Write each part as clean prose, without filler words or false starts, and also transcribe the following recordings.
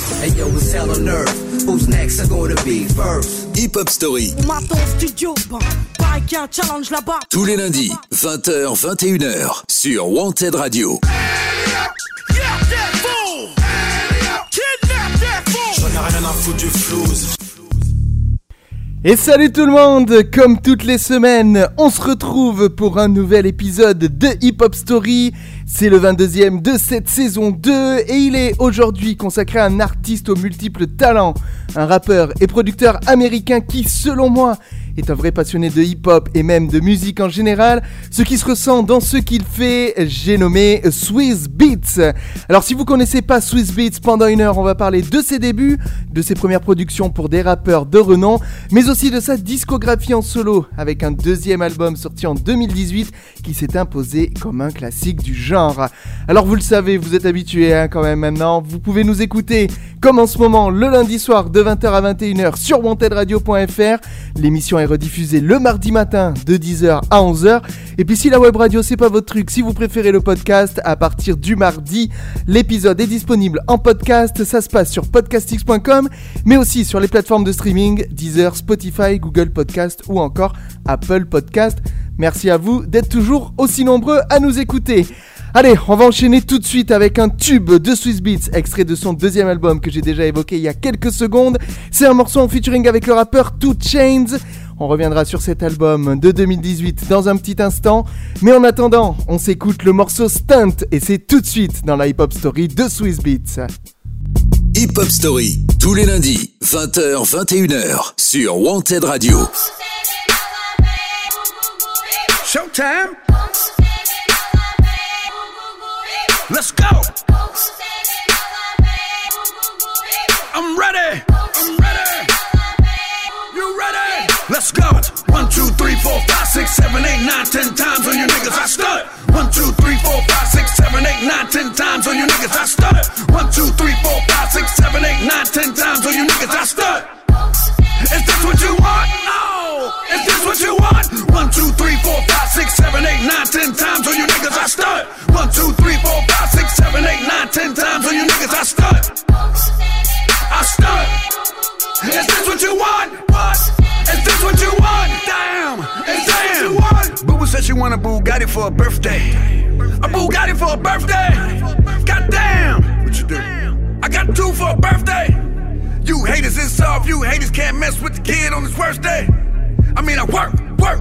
Hey yo, it's hell on earth. Who's next are gonna be first? Hip Hop Story. Studio, pareil qu'il y a un challenge là-bas. Tous les lundis, 20h, 21h, sur Wanted Radio. Et salut tout le monde, comme toutes les semaines, on se retrouve pour un nouvel épisode de Hip Hop Story. C'est le 22e de cette saison 2 et il est aujourd'hui consacré à un artiste aux multiples talents, un rappeur et producteur américain qui, selon moi, est un vrai passionné de hip-hop et même de musique en général, ce qui se ressent dans ce qu'il fait, j'ai nommé Swizz Beatz. Alors si vous connaissez pas Swizz Beatz, pendant une heure on va parler de ses débuts, de ses premières productions pour des rappeurs de renom, mais aussi de sa discographie en solo, avec un deuxième album sorti en 2018 qui s'est imposé comme un classique du genre. Alors vous le savez, vous êtes habitués quand même maintenant, vous pouvez nous écouter comme en ce moment le lundi soir de 20h à 21h sur wantedradio.fr, l'émission est rediffusée le mardi matin de 10h à 11h. Et puis si la web radio c'est pas votre truc, si vous préférez le podcast, à partir du mardi, l'épisode est disponible en podcast. Ça se passe sur podcastx.com, mais aussi sur les plateformes de streaming Deezer, Spotify, Google Podcast ou encore Apple Podcast. Merci à vous d'être toujours aussi nombreux à nous écouter. Allez, on va enchaîner tout de suite avec un tube de Swizz Beatz, extrait de son deuxième album que j'ai déjà évoqué il y a quelques secondes. C'est un morceau en featuring avec le rappeur 2 Chainz. On reviendra sur cet album de 2018 dans un petit instant. Mais en attendant, on s'écoute le morceau Stunt et c'est tout de suite dans la Hip Hop Story de Swizz Beatz. Hip Hop Story, tous les lundis, 20h, 21h, sur Wanted Radio. Showtime! Let's go! I'm ready! You ready? Let's go! 1, 2, 3, 4, 5, 6, 7, 8, 9, 10 times on your niggas, I stunt! 1, 2, 3, 4, 5, 6, 7, 8, 9, 10 times on your niggas, I stunt! 1, 2, 3, 4, 5, 6, 7, 8, 9, 10 times on your niggas, I stunt! Is this what you want? No! Is this what you want? 1, 2, 3, 4, 5, 6, 7, 8, 9, 10 times on your niggas, I stunt! 1, 2, 3, 4, 5, 6, 7, 8, 9, 10 times on your niggas, I stunt! I stunt! Is this what you want? What? Is this what you want? Damn! Is this what you want? Boo said she want a Bugatti for a birthday. A Bugatti for a birthday? Goddamn! What you do? I got 2 for a birthday. You haters is soft, you haters can't mess with the kid on his worst day. I mean, I work.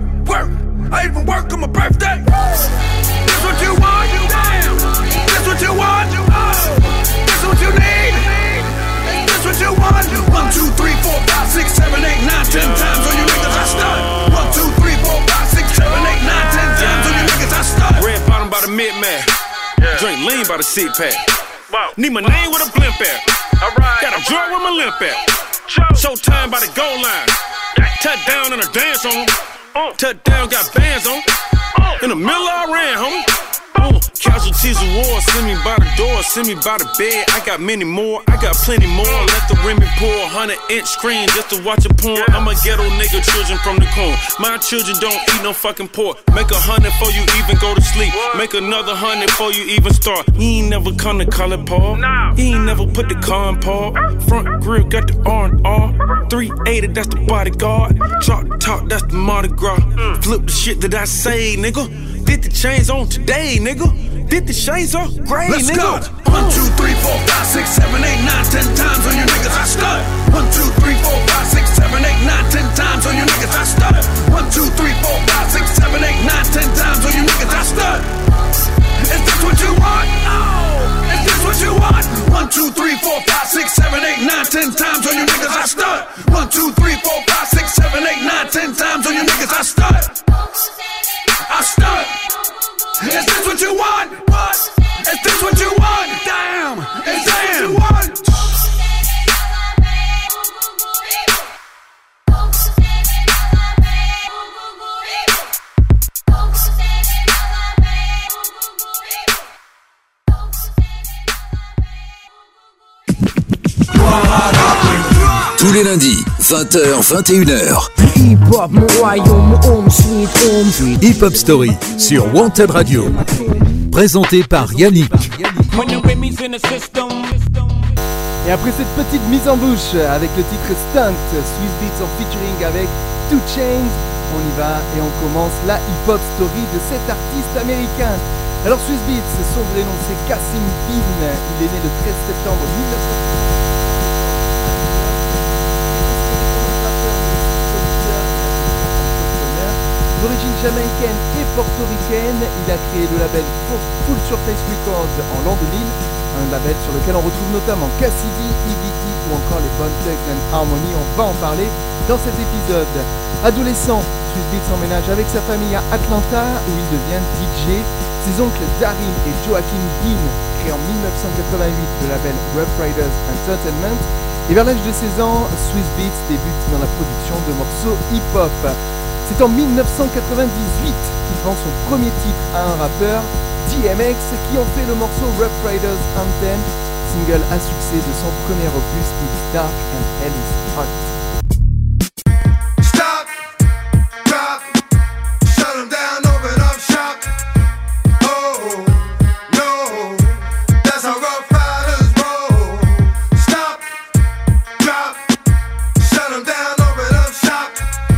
I even work on my birthday. This what you want? Damn! This what you want? This what you need? This what you want? 1, 2, 3, 4, 5, 6, 7, 8, 9, 10 times on your niggas, I stunt. 1, 2, 3, 4, 5, 6, 7, 8, 9, 10 times on your niggas, I stunt. Red bottom by the mid-man. Drink lean by the six-pack. Need my name with a blimp at. Got a drug with my limp at. Showtime by the goal line. Touchdown and a dance on. Touchdown got bands on. In the middle I ran, homie. Casualties of war, send me by the door, send me by the bed. I got many more, I got plenty more. Let the women pour 100-inch screen just to watch a porn. I'm a ghetto nigga, children from the corn. My children don't eat no fucking pork. Make 100 before you even go to sleep. Make another 100 before you even start. He ain't never come to color Paul. He ain't never put the car in Paul. Front grill got the R&R. 380, that's the bodyguard. Drop top, that's the Mardi Gras. Flip the shit that I say, nigga. Did the chains on today, nigga. Did the chains on gray, Let's nigga. Let's go. 1, 2, 3, 4, 5, 6, 7, 8, 9, 10 times on your niggas, I stunt. 1, 2, 3, 4, 5, 6, 7, 8, 9, 10 times on your niggas, I stunt. 1, 2, 3, 4, 5, 6, 7, 8, 9, 10 times on your niggas, I stunt. Is this what you want? No. Is this what you want? 1, 2, 3, 4, 5, 6, 7, 8, 9, 10 times on your niggas, I stunt. 1, 2, 3, 4, 5, 6, 7, 8, 9, 10 times on your niggas, I stunt. I stunt. Is this what you want? What? Is this what you want? Damn! Is this what you want? Tous les lundis, 20h, 21h. Hip-hop, mon royaume, mon home sweet home. Hip Hop Story sur Wanted Radio. Présenté par Yannick. Et après cette petite mise en bouche avec le titre Stunt, Swizz Beatz en featuring avec 2 Chainz, on y va et on commence la hip-hop story de cet artiste américain. Alors Swizz Beatz, son vrai nom c'est Kasim Bin, il est né le 13 septembre 1900. D'origine jamaïcaine et portoricaine, il a créé le label Full Surface Records en l'an 2000, un label sur lequel on retrouve notamment Cassidy, E.B.T. ou encore les Bone Thugs and Harmony, on va en parler dans cet épisode. Adolescent, Swizz Beatz emménage avec sa famille à Atlanta où il devient DJ. Ses oncles Darin et Joaquin Dean créent en 1988 le label Rough Riders Entertainment. Et vers l'âge de 16 ans, Swizz Beatz débute dans la production de morceaux hip-hop. C'est en 1998 qu'il vend son premier titre à un rappeur, DMX, qui en fait le morceau Rough Riders Anthem, single à succès de son premier opus It's Dark and Hell is Hot. Stop, drop, shut 'em down, open up shop. Oh, no, that's how Rough Riders roll. Stop, drop, shut 'em down, open up shop.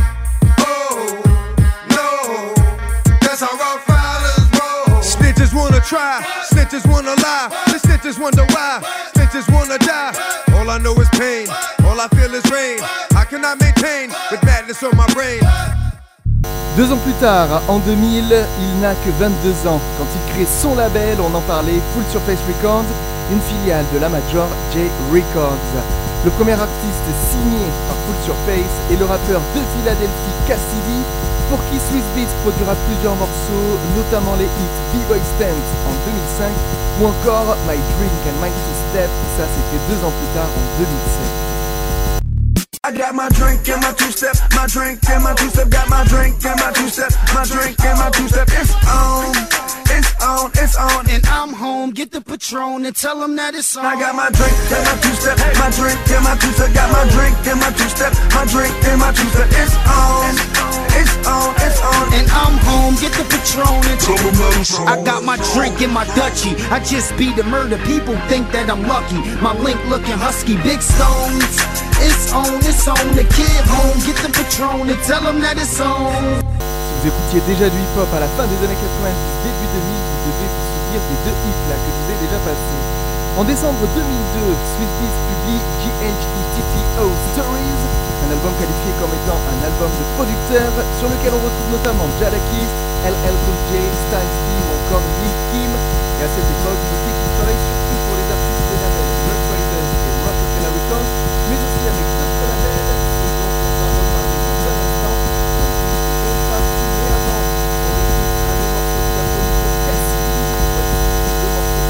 Snitches wanna try, snitches wanna lie, the snitches wonder why, snitches wanna die. All I know is pain, all I feel is rain. How can I maintain with madness on my brain? 2 ans plus tard, en 2000, il n'a que 22 ans. Quand il crée son label, on en parlait, Full Surface Records, une filiale de la major J Records. Le premier artiste signé par Full Surface est le rappeur de Philadelphie Cassidy, pour qui Swizz Beatz produira plusieurs morceaux, notamment les hits B-Boy Stance en 2005 ou encore My Drink and My Two Step, ça c'était 2 ans plus tard en 2007. I got my drink and my two-step, my drink and my two-step, got my drink and my two-step, my drink and my two-step, it's on, it's on, it's on, and I'm home, get the Patron and tell them that it's on. I got my drink and my two-step, my drink and my two-step, got my drink and my two-step, my drink and my two-step, it's on, it's on, it's on, and I'm home, get the Patron and tell them that it's on. I got my drink in my Dutchie, I just beat the murder, people think that I'm lucky, my link looking husky, big stones. It's on, the kid home, get the Patron and tell them that it's on. Si vous écoutiez déjà du hip-hop à la fin des années 90, début 2000, vous devez vous souvenir des 2 hits là que je vous ai déjà passés. En décembre 2002, Swizz Beatz publie GHETTO Stories, un album qualifié comme étant un album de producteur, sur lequel on retrouve notamment Jadakiss, LL Cool J, Styles P ou encore Lil Kim. Et à cette époque, le qu'il travaille surtout pour les artistes des labels Rough Riders et Rockefeller Records, mais aussi avec d'autres labels, et dont on va reparler dans un instant. On va mais avant, on écoute un des morceaux de l'album pour Cassidy, deux morceaux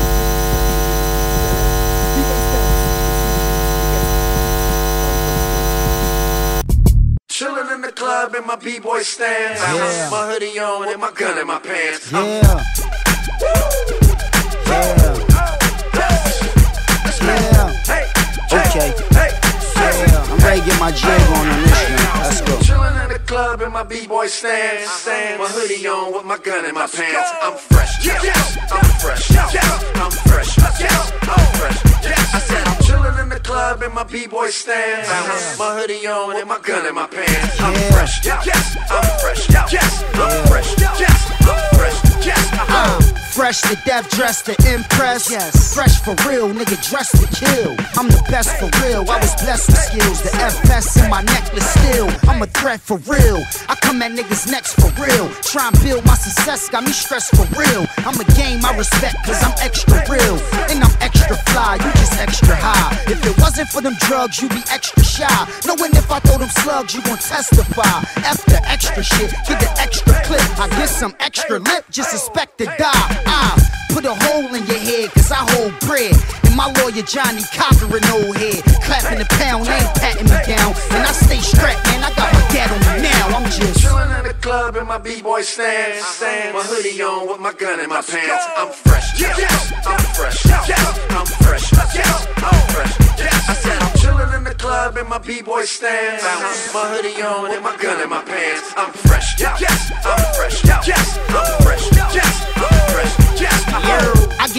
de B-Boy Stance. Chillin' in the club in my B-boy stance, Yeah. my hoodie on and my gun in my pants. Yeah. Okay. Yeah, I'm ready to get my jig on this one. Let's go. Chillin' in the club in my B-boy stance, my hoodie on with my gun in my pants. I'm fresh, yes, I'm fresh, yes, I'm fresh, yes, I'm fresh. I said I'm chillin' in the club in my B-boy stance, my hoodie on and my gun in my pants. I'm fresh, yes, I'm fresh, yes, I'm fresh, yes, I'm fresh, yes. Fresh to death, dressed to impress. Yes. Fresh for real, nigga, dressed to kill. I'm the best for real, I was blessed with skills. The FS in my necklace still. I'm a threat for real. I come at niggas next for real. Try and build my success, got me stressed for real. I'm a game I respect, cause I'm extra real. And I'm extra fly, you just extra high. If it wasn't for them drugs, you be extra shy. Knowing if I throw them slugs, you gon' testify. F the extra shit, get the extra clip. I get some extra lip, just expect to die. Put a hole in your head, cause I hold bread. And my lawyer Johnny Cochran old head. Clapping the pound, ain't patting me down. And I stay strapped, man, I got my gat on me now. I'm just chillin' in the club in my B-boy stance, my hoodie on with my gun in my pants. I'm fresh, yes, I'm fresh, yes, I'm fresh, yes, I'm fresh. I said I'm chillin' in the club in my B-boy stance, my hoodie on and my gun in my pants. I'm fresh, yes, I'm fresh, yes, I'm fresh, yes, I'm fresh, yes. I get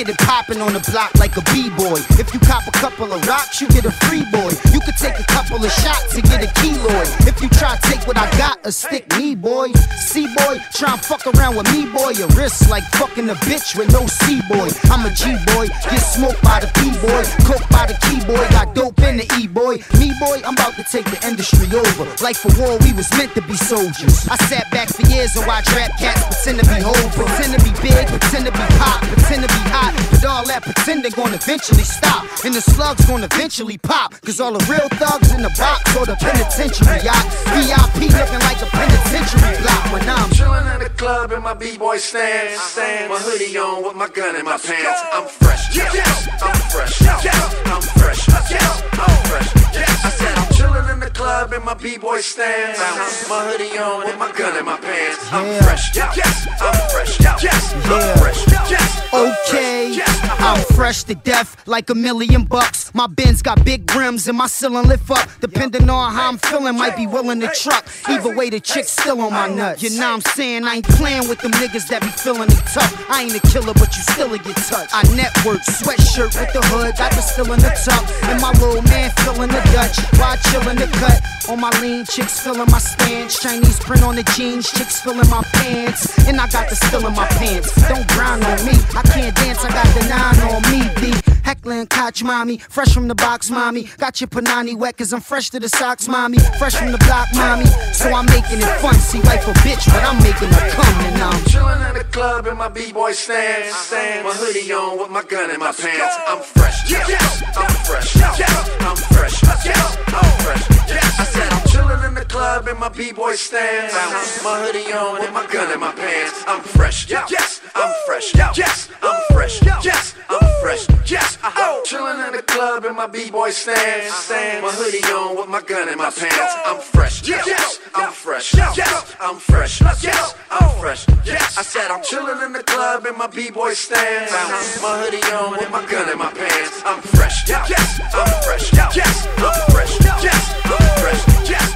get it poppin' on the block like a b-boy. If you cop a couple of rocks, you get a free boy. You could take a couple of shots and get a keloid. If you try to take what I got, a stick me, boy. C-boy, try and fuck around with me, boy. Your wrist like fucking a bitch with no C-boy. I'm a G-boy, get smoked by the P-boy. Coke by the key-boy, got dope in the E-boy. Me, boy, I'm about to take the industry over. Like for war, we was meant to be soldiers. I sat back for years and watched rap cats pretend to be whole, pretend to be big, pretend to be pop, pretend to be hot. But all that pretending gonna eventually stop, and the slugs gonna eventually pop. Cause all the real thugs in the box or the penitentiary yacht. VIP looking like a penitentiary block when I'm chillin' in the club in my b-boy stance. My hoodie on with my gun in my pants. I'm fresh, yes, I'm fresh, yes, I'm fresh, yes, I'm fresh. I said I'm chillin' in the club in my b-boy stance. My hoodie on with my gun in my pants. I'm fresh, yes, I'm fresh, yes, I'm fresh, yes. Okay, I'm fresh to death like $1 million. My Benz got big rims and my ceiling lift up. Depending on how I'm feeling, might be willing to truck. Either way, the chick's still on my nuts. You know what I'm saying? I ain't playing with them niggas that be feeling it tough. I ain't a killer, but you still get touched. I network, sweatshirt with the hood, got the still in the tuck. And my little man feeling the Dutch while chillin' the cut. On my lean, chicks feeling my stance. Chinese print on the jeans, chicks feeling my pants. And I got the still in my pants. Don't grind on me, I can't dance, I got the 9 on me, B. Heckling Koch, mommy, fresh from the box, mommy. Got your panani wet, cause I'm fresh to the socks, mommy. Fresh from the block, mommy. So I'm making it fun, see, wife a bitch, but I'm making her come, and I'm chillin' in the club in my b-boy stance. My hoodie on with my gun in my pants. I'm fresh, yes, I'm fresh, yes, I'm fresh, yes, I'm fresh. I said I'm chillin' in the club in my b-boy stance. My hoodie on with my gun in my pants. I'm fresh, yes, I'm fresh, yes, I'm fresh, yes, I'm fresh, yes. Chillin' in the club in my b-boy stance. My hoodie on with my gun in my pants. I'm fresh, yes, I'm fresh, yes, I'm fresh, yes, I'm fresh, yes. I said I'm chillin' in the club in my b-boy stance. My hoodie on with my gun in my pants. I'm fresh, yes, I'm fresh, yes, I'm fresh, yes, I'm fresh, yes.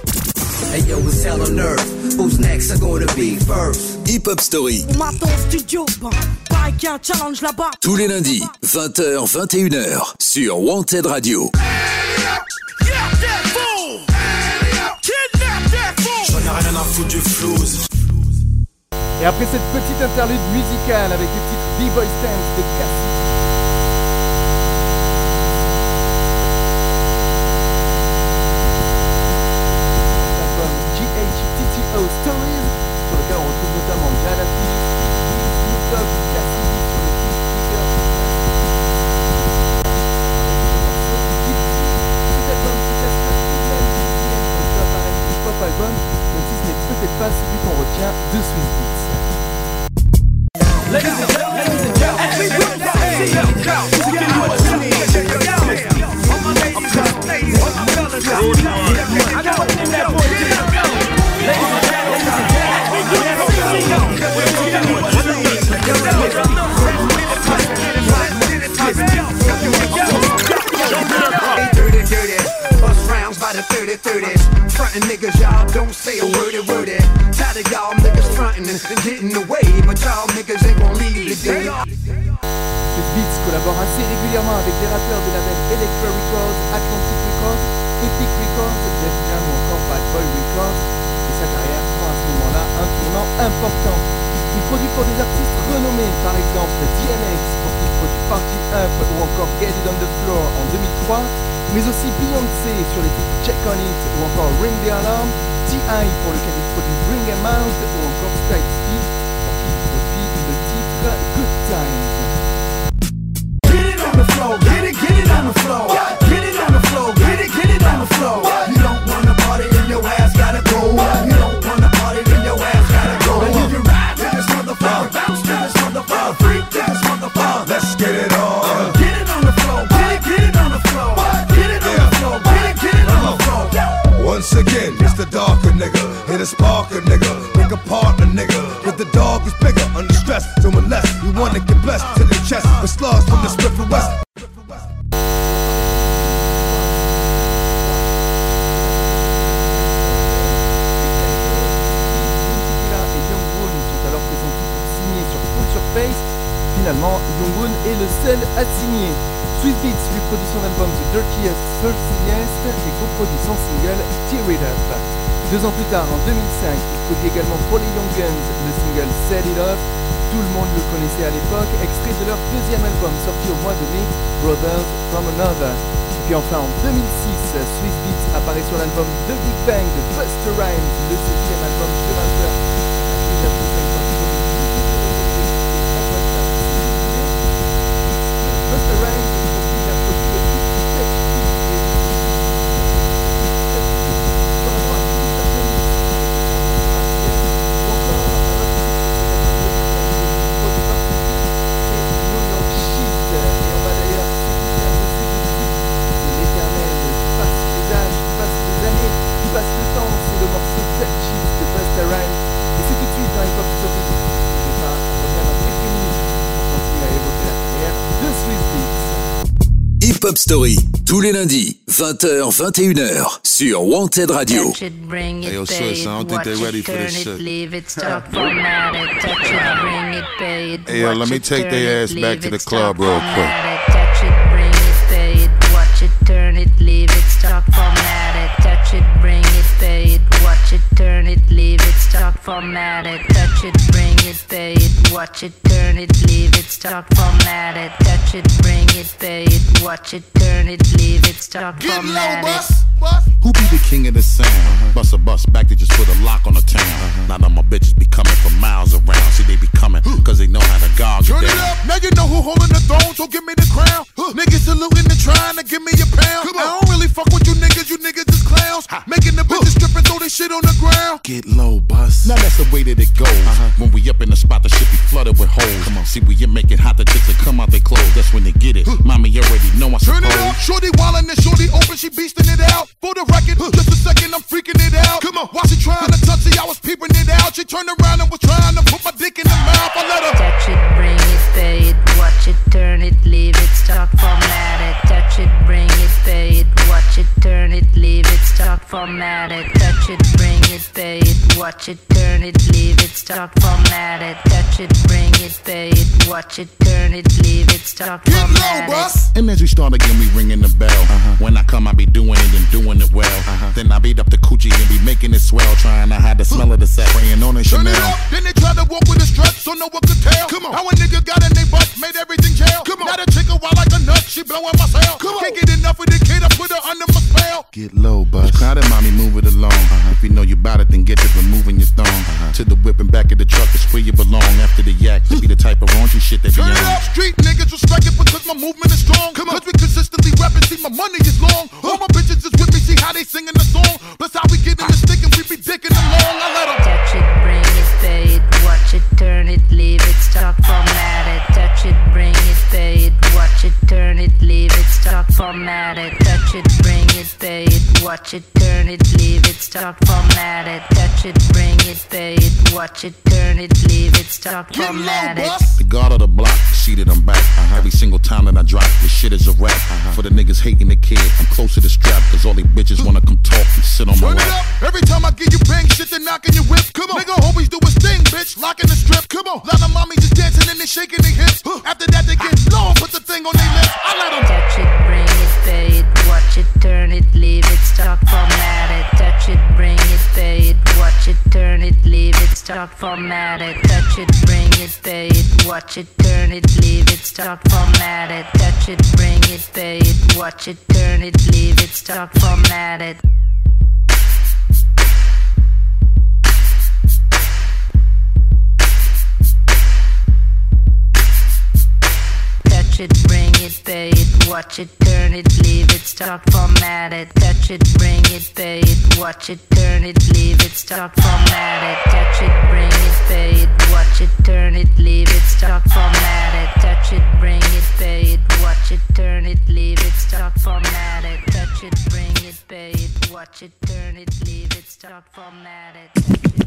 Hey yo, it's hell on earth. Who's next are gonna be first? Hip Hop Story. On m'attend au studio, pareil qu'il y a un challenge là-bas. Tous les lundis, 20h, 21h, sur Wanted Radio. Et après cette petite interlude musicale avec le titre B-Boy Stance de Cassie, l'album GHTTO Stories, sur lequel on retrouve notamment Jada Phillips, Snoop Dogg, Cassidy sur le titre Trigger. Cet album se classera tout de même 10e pour le top R&B pop album, même si ce n'est peut-être pas celui qu'on retient de Swizz Beatz. Ladies and gentlemen, as we rock the AC up, you get what you need. All my ladies, all my fellas, I got one in that boy. Ladies and gentlemen, as we rock the AC up, you get what you need. Dirty, dirty, bust rounds by the 30-30s. Frontin' niggas, y'all don't say a word. Tired of y'all niggas frontin' and getting away, but y'all niggas ain't gon' leave today. Swizz Beatz collabore assez régulièrement avec des rappeurs des labels Elektra Records, Atlantic Records, Epic Records, Def Jam ou encore Bad Boy Records, et sa carrière prend à ce moment-là un tournant important. Il produit pour des artistes renommés, par exemple DMX, pour qui il produit Party Up ou encore Get It On The Floor en 2003, mais aussi Beyoncé sur les titres Check On It ou encore Ring The Alarm, T.I. pour lequel il produit Bring Em Out ou encore Styles P pour qui il produit le titre Good Times. Get it on the floor, get it on the floor. Get it on the floor, get it on the floor. You don't wanna party, then your ass gotta go. You don't wanna party, then your ass gotta go. And if you ride to this motherfucker, bounce to this motherfucker, freak to this motherfucker, let's get it on. Get it on the floor, get it on the floor. Get it on the floor, get it on the floor. Once again, it's the darker nigga, hit a sparker nigga, pick a partner nigga, but the dog is bigger, under stress, so unless you wanna get blessed to the chest, with slugs from the Smith & West. Finalement, Young Boon est le seul à signer. Swizz Beatz lui produit son album The Dirtiest, Thirstiest et coproduit son single Tear It Up. 2 ans plus tard, en 2005, il produit également pour les Young Guns le single Set It Off. Tout le monde le connaissait à l'époque, extrait de leur 2e album sorti au mois de mai, Brothers From Another. Et puis enfin en 2006, Swizz Beatz apparaît sur l'album The Big Bang de Busta Rhymes, le 7e album sur Hunter. Busta Rhymes Hip Hop Story, tous les lundis, 20h, 21h, sur Wanted Radio. Hey, yo, sis, I don't think they're ready for this shit. Hey, yo, let me take their ass back to the club real quick. Touch it, bring it, pay it, watch it, turn it, leave it, stop, format it. Touch it, bring it, pay it, watch it, turn it, leave it, stop, format it. Touch it, bring it, pay it, watch it, turn it, leave it, stop, format it. Touch it, bring it, pay it, watch it, turn it, leave it, stop, format it. Who be the king of the sound? Bust a bus back to just put a lock on the town. Now my bitches be coming from miles around. See, they be coming cause they know how to guard you down. Turn it up, now you know who holding the throne, so give me the crown. Niggas saluting and trying to give me a pound. I don't really fuck with you niggas is clowns. Making the bitches strip and throw this shit on the ground. Get low, bus. Now that's the way that it goes. When we up in the spot, the shit be flooded with holes. Come on, see, we you make it hot, the chicks that come out they clothes. That's when they get it. Mommy, you already know I suppose. Turn it up, shorty wildin' and shorty open, she beastin' it out. For the record, just a second, I'm freaking it out. Come on, while she trying to touch it, I was peeping it out. She turned around and was trying to put my dick in the mouth. I let her touch it, bring it, pay it, watch it, turn it, leave it, stop, format it. Touch it, bring it, pay it, watch it, turn it, leave it, stop, format it. Touch it, bring it, pay it, watch it, turn it, leave it, stop, format it. Touch it, bring it, pay it, watch it, turn it, leave it, stop, format it. And as we start again, we ringing the bell. When I come, I be doing it and doing it well. Then I beat up the coochie and be making it swell. Trying to hide the smell of the sack, praying on a turn Chanel. it up, then they try to walk with a strut, so no one could tell. Come on, how a nigga got in they butt, made everything jail. Come on, now the chick a wild like a nut, she blowing my cell. Can't get enough of the kid, I put her under my spell. Get low, bus. Crowded, mommy, move it along. If you know you bout it, then get to removing your thong. To the whip and back of the truck is where you belong. After the yak, to be the type of raunchy shit that be Turn on. it up, street niggas respect it because my movement is strong. Come on, cause we consistently rapping, see my money is long. All my bitches is with me, see how they singing the song. Plus how we get in the stick and we be dicking along. I let them touch it, bring it, pay it, watch it, turn it, leave it, stop, format it. Touch it, bring it, pay it, watch it, turn it, leave it, stop, format it. Touch it, bring it, pay it, watch it, turn it, leave it, stop, format it. Touch it, bring it, pay it, watch it, turn it, leave it, stop, format it. The guard of the block, sheeted I'm back. Every single time that I drop, this shit is a rap. For the niggas hating the kid, I'm close to the strap. Cause all they bitches wanna come talk and sit on my turn it lap. up, every time I give you bang shit, they're knocking your whip. Come on, nigga always do his thing, bitch, locking the strip. Come on, lot of mommies just dancing and they shaking their hips. After that they get low, put the thing on their lips. I let them touch it, bring it, pay it, watch it, turn it, leave it, stop, format it. Touch it, bring it, pay it, watch it, turn it, leave it, stop, format it. Touch it, bring it, pay it, watch it, turn it, leave it, stop, format it. Touch it, bring it, pay it, watch it, turn it, leave it, stop, format it. Touch it, bring it, pay it, watch it, turn it, leave it, stop, format it. Touch it, bring it, pay it, watch it, turn it, leave it, stop, format it. Touch it, bring it, pay it, watch it, turn it, leave it, stop, format it. Touch it, bring it, pay it, watch it, turn it, leave it, stop, format it. Touch it, bring it, pay it, watch it, turn it, leave it, stop, format it.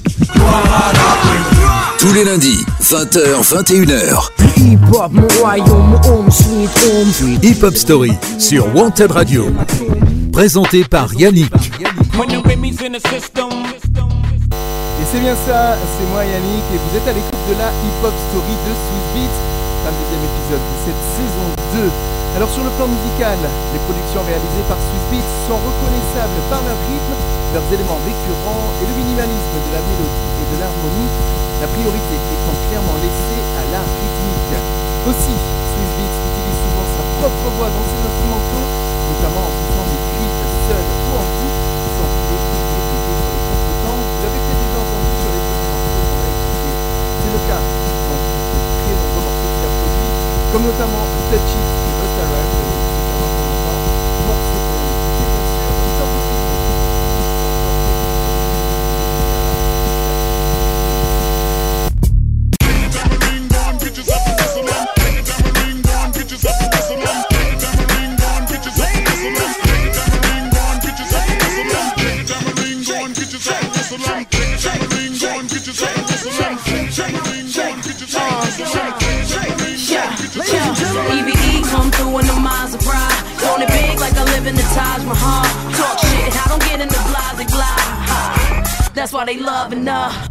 Tous les lundis, 20h, 21h. Hip-hop, mon royaume, mon home, sweet home. Hip Hop Story sur Wanted Radio. Présenté par Yannick. Et c'est bien ça, c'est moi Yannick et vous êtes à l'écoute de la Hip Hop Story de Swizz Beatz. 22e épisode de cette saison 2. Alors sur le plan musical, les productions réalisées par Swizz Beatz sont reconnaissables par leur rythme, leurs éléments récurrents et le minimalisme de la mélodie et de l'harmonie, la priorité étant clairement laissée à l'art rythmique. Aussi, Swizz Beatz utilise souvent sa propre voix dans ses instrumentaux, notamment en faisant des cuites seules ou en groupe, sans oublier de répéter sur les contretemps. Vous l'avez peut-être déjà entendu sur les premiers morceaux qu'on a écoutés. C'est le cas dans de très nombreux morceaux qu'il a produits, comme notamment Touch It de Busta Rhymes, morceau qu'on a écouté bien sûr dans le vidéo. EVE come through in the Maserati. Want it big like I live in the Taj Mahal. Talk shit, I don't get in the blah. That's why they love enough.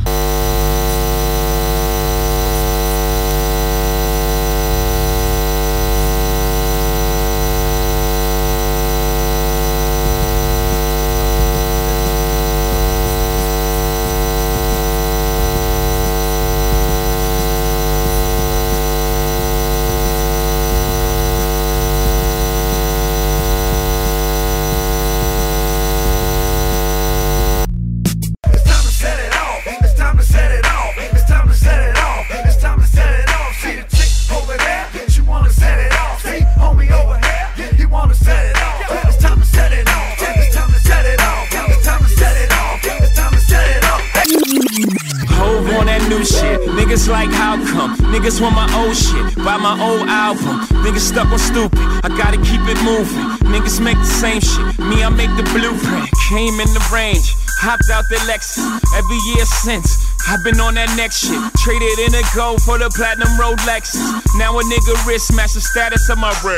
Niggas like how come? Niggas want my old shit, buy my old album. Niggas stuck on stupid, I gotta keep it moving. Niggas make the same shit, me I make the blueprint. Came in the range, hopped out the Lexus. Every year since, I've been on that next shit. Traded in a gold for the platinum road Lexus. Now a nigga wrist match the status of my record.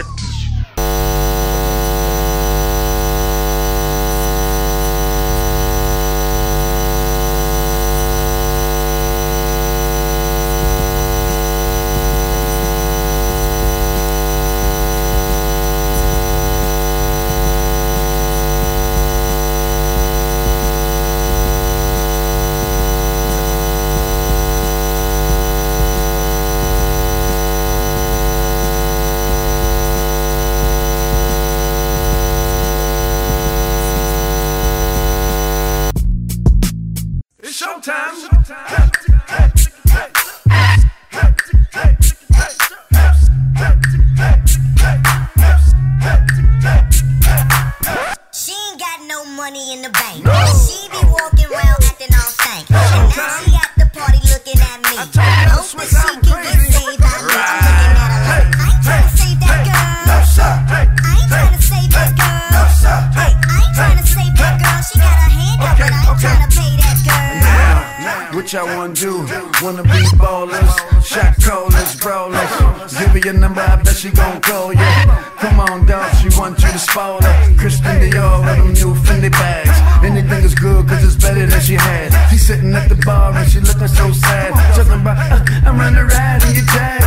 What y'all wanna do? Wanna be ballers, shot callers, brawlers. Give her your number, I bet she gon' call you. Come on, dog, she want you to spoil her. Christian Dior with them new Fendi bags. Anything is good, cause it's better than she had. She's sitting at the bar and she looking so sad. Talking about, I wanna ride in your jag.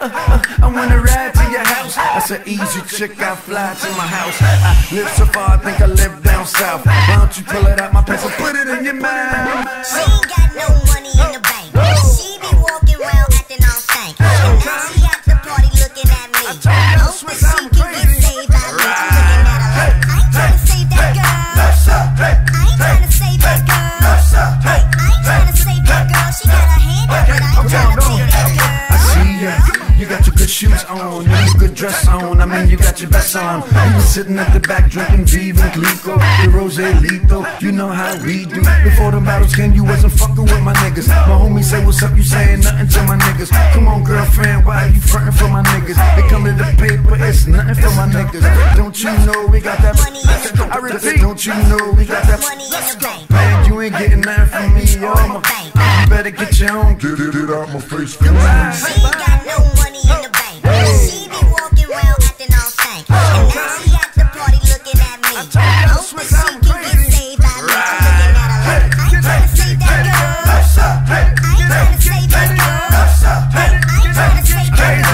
I wanna ride to your house. That's an easy chick, I fly to my house. I live so far, I think I live down south. Why don't you pull it out my pants and put it in your mouth? She ain't got no money in the bank. She be walking around acting all stank. And now she at the party looking at me. Hope that she can get saved by me. I'm looking at her like, I ain't tryna save that girl. I ain't tryna save that girl. I ain't tryna save that girl. She got her hand up, but I ain't tryna pay that girl. I see ya. You got your good shoes on, you got your good dress on. I mean, you got your best on. You been sitting at the back drinking Viva and Clico, the Rose Lito. You know how we do. Before the battles came, you wasn't fucking with my niggas. My homie say, what's up? You saying nothing to my niggas. Come on, girlfriend, why are you frontin' for my niggas? They come to the paper, it's nothing for my niggas. Don't you know we got that money? I repeat, don't you know we got that money in the bank? Man, you ain't getting nothing from me, yo. You better get your own. Get it out my face, she ain't got no money in the bank. She be walking around acting all stank. And now she at the party looking at me. Hope that she can get saved by me. I'm looking at her like, I ain't tryna save that girl. I ain't tryna save that girl. I ain't tryna save that girl.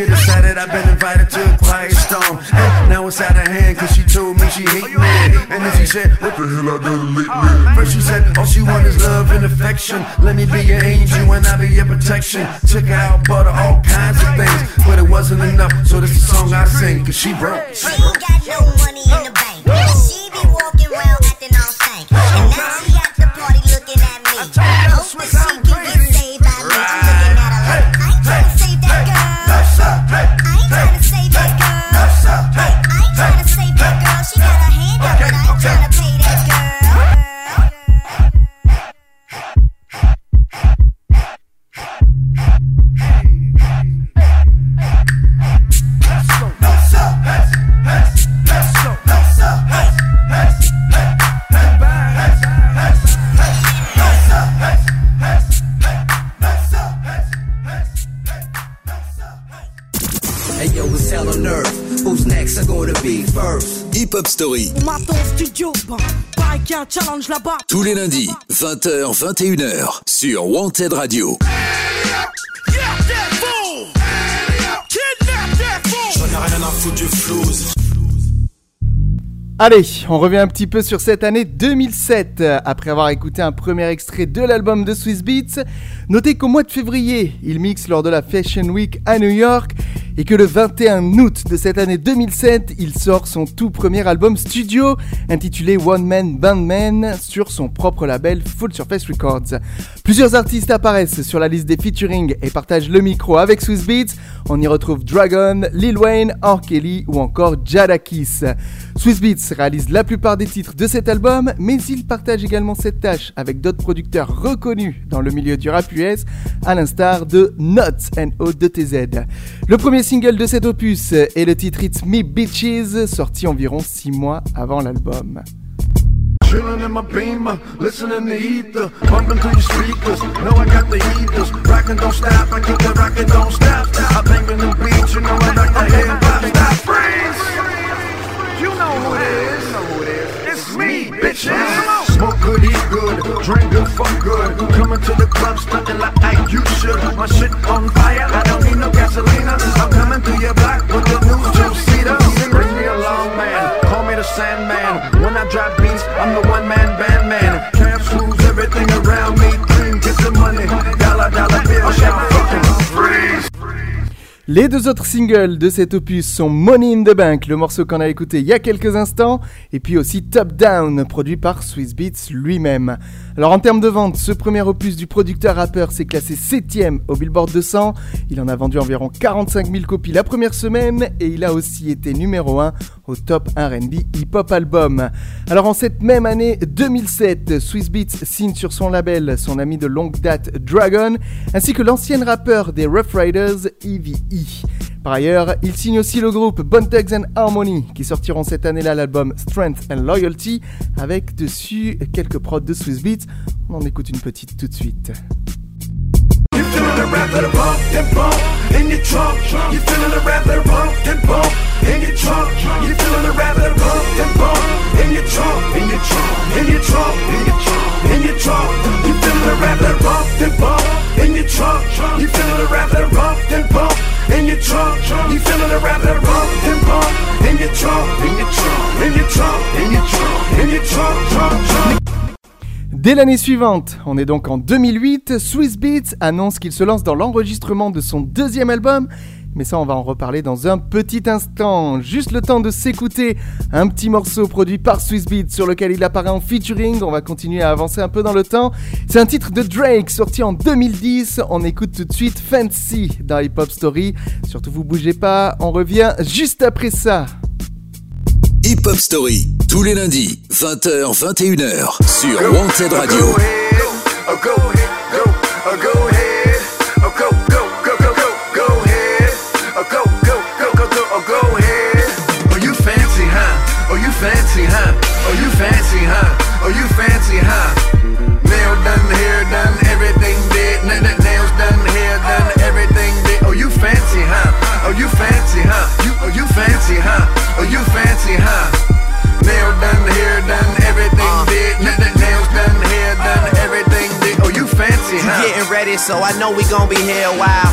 decided I've been invited to a quiet storm. And now it's out of hand cause she told me she hate me. And then she said, what the hell I done lately? First she said, all she want is love and affection. Let me be your angel and I'll be your protection. Took her out, bought her all kinds of things, but it wasn't enough, so this is the song I sing, cause she broke. She ain't got no money in the bank. She be walking around acting all stank. And now she at the party looking at me. Hope that she can get saved by me. I'm looking at her like, I ain't trying to save that girl. I ain't trying to save that girl. I ain't trying to save that girl. She got her hand up, but I ain't trying to pay that girl. Hey yo, it's hell on earth. Who's next are gonna be first? Hip Hop Story. On m'attend au studio, pareil qu'il y a un challenge là-bas. Tous les lundis, 20h, 21h, sur Wanted Radio. J'en ai rien à foutre du flouze. Allez, on revient un petit peu sur cette année 2007. Après avoir écouté un premier extrait de l'album de Swizz Beatz, notez qu'au mois de février, il mixe lors de la Fashion Week à New York et que le 21 août de cette année 2007, il sort son tout premier album studio intitulé One Man Band Man sur son propre label Full Surface Records. Plusieurs artistes apparaissent sur la liste des featuring et partagent le micro avec Swizz Beatz. On y retrouve Dragon, Lil Wayne, R. Kelly ou encore Jadakiss. Swizz Beatz réalise la plupart des titres de cet album, mais il partage également cette tâche avec d'autres producteurs reconnus dans le milieu du rap US, à l'instar de Nottz N.O.T.Z. Le premier single de cet opus est le titre It's Me Bitches, sorti environ 6 mois avant l'album. Chillin' in my beamer, listening to ether, bumping to your speakers. Know I got the heaters, rockin' don't stop. I keep the rockin' don't stop. I bang in the beats, you know I like the hip hop. Stop, freeze! You know who it is? It's me, bitches. Smoke good, eat good, drink good, fuck good. Coming to the club, stuntin' like you should. My shit on fire, I don't need no gasolina. I'm coming through your block with the new two-seater. Bring me along, man. Call me the Sandman. When I drop beats, I'm the one-man band man. Cash rules everything around me. Clean, get the money. Dollar bill, shout fucking freeze. Les deux autres singles de cet opus sont Money in the Bank, le morceau qu'on a écouté il y a quelques instants, et puis aussi Top Down, produit par Swizz Beatz lui-même. Alors en termes de vente, ce premier opus du producteur-rappeur s'est classé 7ème au Billboard 200, il en a vendu environ 45 000 copies la première semaine, et il a aussi été numéro 1 au Top R&B Hip Hop Album. Alors en cette même année 2007, Swizz Beatz signe sur son label son ami de longue date Dragon, ainsi que l'ancienne rappeur des Rough Riders, Eve. Par ailleurs, il signe aussi le groupe Bone Thugs and Harmony qui sortiront cette année-là l'album Strength and Loyalty avec dessus quelques prods de Swizz Beatz. On en écoute une petite tout de suite. You feeling the rap of the bump and bump in your trunk. You feeling the rap of the bump and bump in your trunk. You feeling the rap of the bump and bump in your trunk, in your trunk, in your trunk, in your trunk, in your trunk. You feeling the rap of the bump and bump in your trunk. You feeling the rap of the bump and bump in your trunk. You feeling the rap of the bump and bump in your trunk, in your trunk, in your trunk, in your trunk, in your trunk. Dès l'année suivante, on est donc en 2008, Swizz Beatz annonce qu'il se lance dans l'enregistrement de son deuxième album, mais ça on va en reparler dans un petit instant. Juste le temps de s'écouter un petit morceau produit par Swizz Beatz sur lequel il apparaît en featuring, on va continuer à avancer un peu dans le temps. C'est un titre de Drake sorti en 2010, on écoute tout de suite Fancy dans Hip Hop Story. Surtout vous bougez pas, on revient juste après ça. Hip Hop Story, tous les lundis, 20h, 21h, sur Wanted Radio. Fancy, huh? Oh, you fancy, huh? Oh, you fancy, huh? Nail done, hair done, everything did. Nails done, hair done, everything did. Oh, you fancy, huh? Oh, you fancy, huh? Oh, you fancy, huh? Oh, you fancy, huh? Nail done, hair done, everything did. Nails done, hair done, everything did. Oh, you fancy, huh? You getting ready, so I know we gon' be here a while.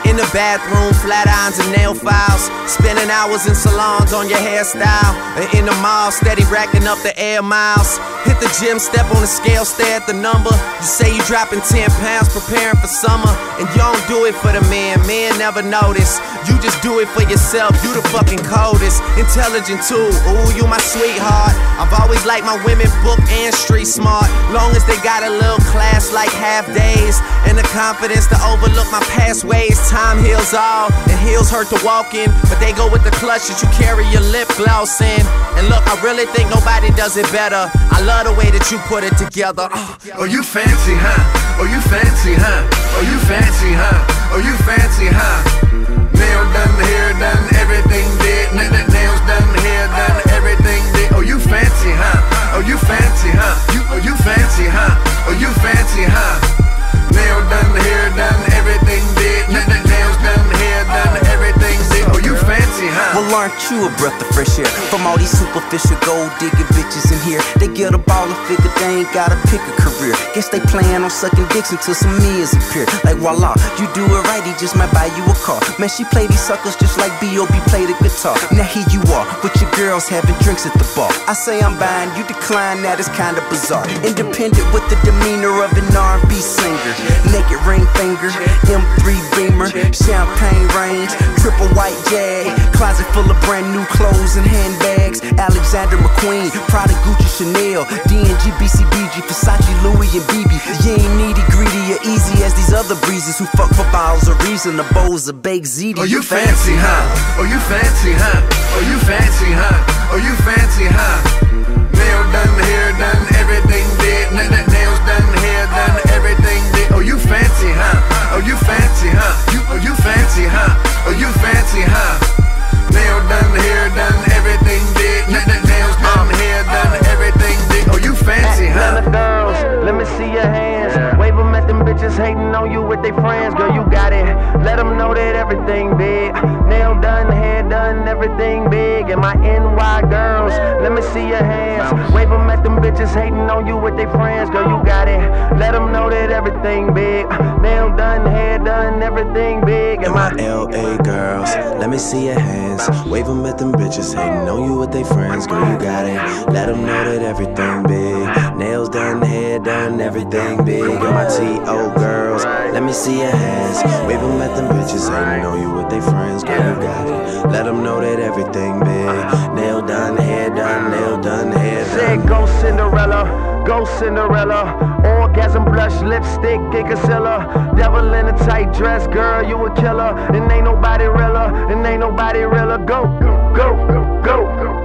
In the bathroom, flat irons and nail files. Spending hours in salons on your hairstyle. And in the mall, steady racking up the air miles. Hit the gym, step on the scale, stare at the number. You say you dropping 10 pounds, preparing for summer. And you don't do it for the men never notice. You just do it for yourself, you the fucking coldest. Intelligent too, ooh, you my sweetheart. I've always liked my women book and street smart. Long as they got a little class like half days. And the confidence to overlook my past ways. Time heals all, and heels hurt to walk in. But they go with the clutch that you carry your lip gloss in. And look, I really think nobody does it better. I love the way that you put it together. Oh, you fancy, huh? Oh, you fancy, huh? Oh, you fancy, huh? Oh, you fancy, huh? Nail done, hair done, everything did. Nails done, hair done, everything did. Oh, you fancy, huh? Oh, you fancy, huh? Oh, you fancy, huh? Oh, you fancy, huh? Nail done, hair done, everything did. Nails done, hair done, everything did. Oh, you fancy, huh? Well, aren't you a breath of fresh air? From all these superficial gold digging bitches in here. They get a ball and figure they ain't gotta pick a career. Guess they plan on sucking dicks until some meals appear. Like voila, you do it right, he just might buy you a car. Man, she play these suckers just like B.O.B. play the guitar. Now here you are, with your girls having drinks at the bar. I say I'm buying, you decline, that is kinda bizarre. Independent with the demeanor of an R&B singer. Naked ring finger, M3 Beamer, champagne range, triple white Jag, closet full of brand new clothes and handbags. Alexander McQueen, Prada, Gucci, Chanel, D&G, BCBG, Versace, Louis and BB. You ain't needy, greedy, or easy as these other breezes who fuck for bottles of reason, the bowls of baked ziti. Oh, you fancy, huh? Oh, you fancy, huh? Oh, you fancy, huh? Oh, you fancy, huh? Nail done, hair done, everything did. Nails done, hair done, everything did. Oh, you fancy, huh? Oh, you fancy, huh? Oh, you fancy, huh? Oh, you fancy, huh? Nail done, hair done, everything did. Nails done, hair done, everything did. Oh, you fancy, huh? Girls, let me see your hands. Wave them at them bitches hating on you with their friends. Girl, you got it. Let them know that everything big. Nail done, hair done, everything big. And my NY girls, let me see your hands. Wave them at them bitches hating on you with their friends. Girl, you got it. Let them know that everything big. Nail done, hair done, everything big. And my LA girls, let me see your hands. Wave them at them bitches hating on you with their friends. Girl, you got it. Let them know that everything big. Nails done, hair done, everything big. And my T.O. girls, let me see your hands. Wave them at them bitches hating on you with their friends. Girl, you got it. Let them know that everything big. Nail done, hair done, nail done, hair done. Said go Cinderella, go Cinderella. Orgasm, blush, lipstick, and concealer. Devil in a tight dress, girl, you a killer. And ain't nobody realer, and ain't nobody realer. Go, go, go, go,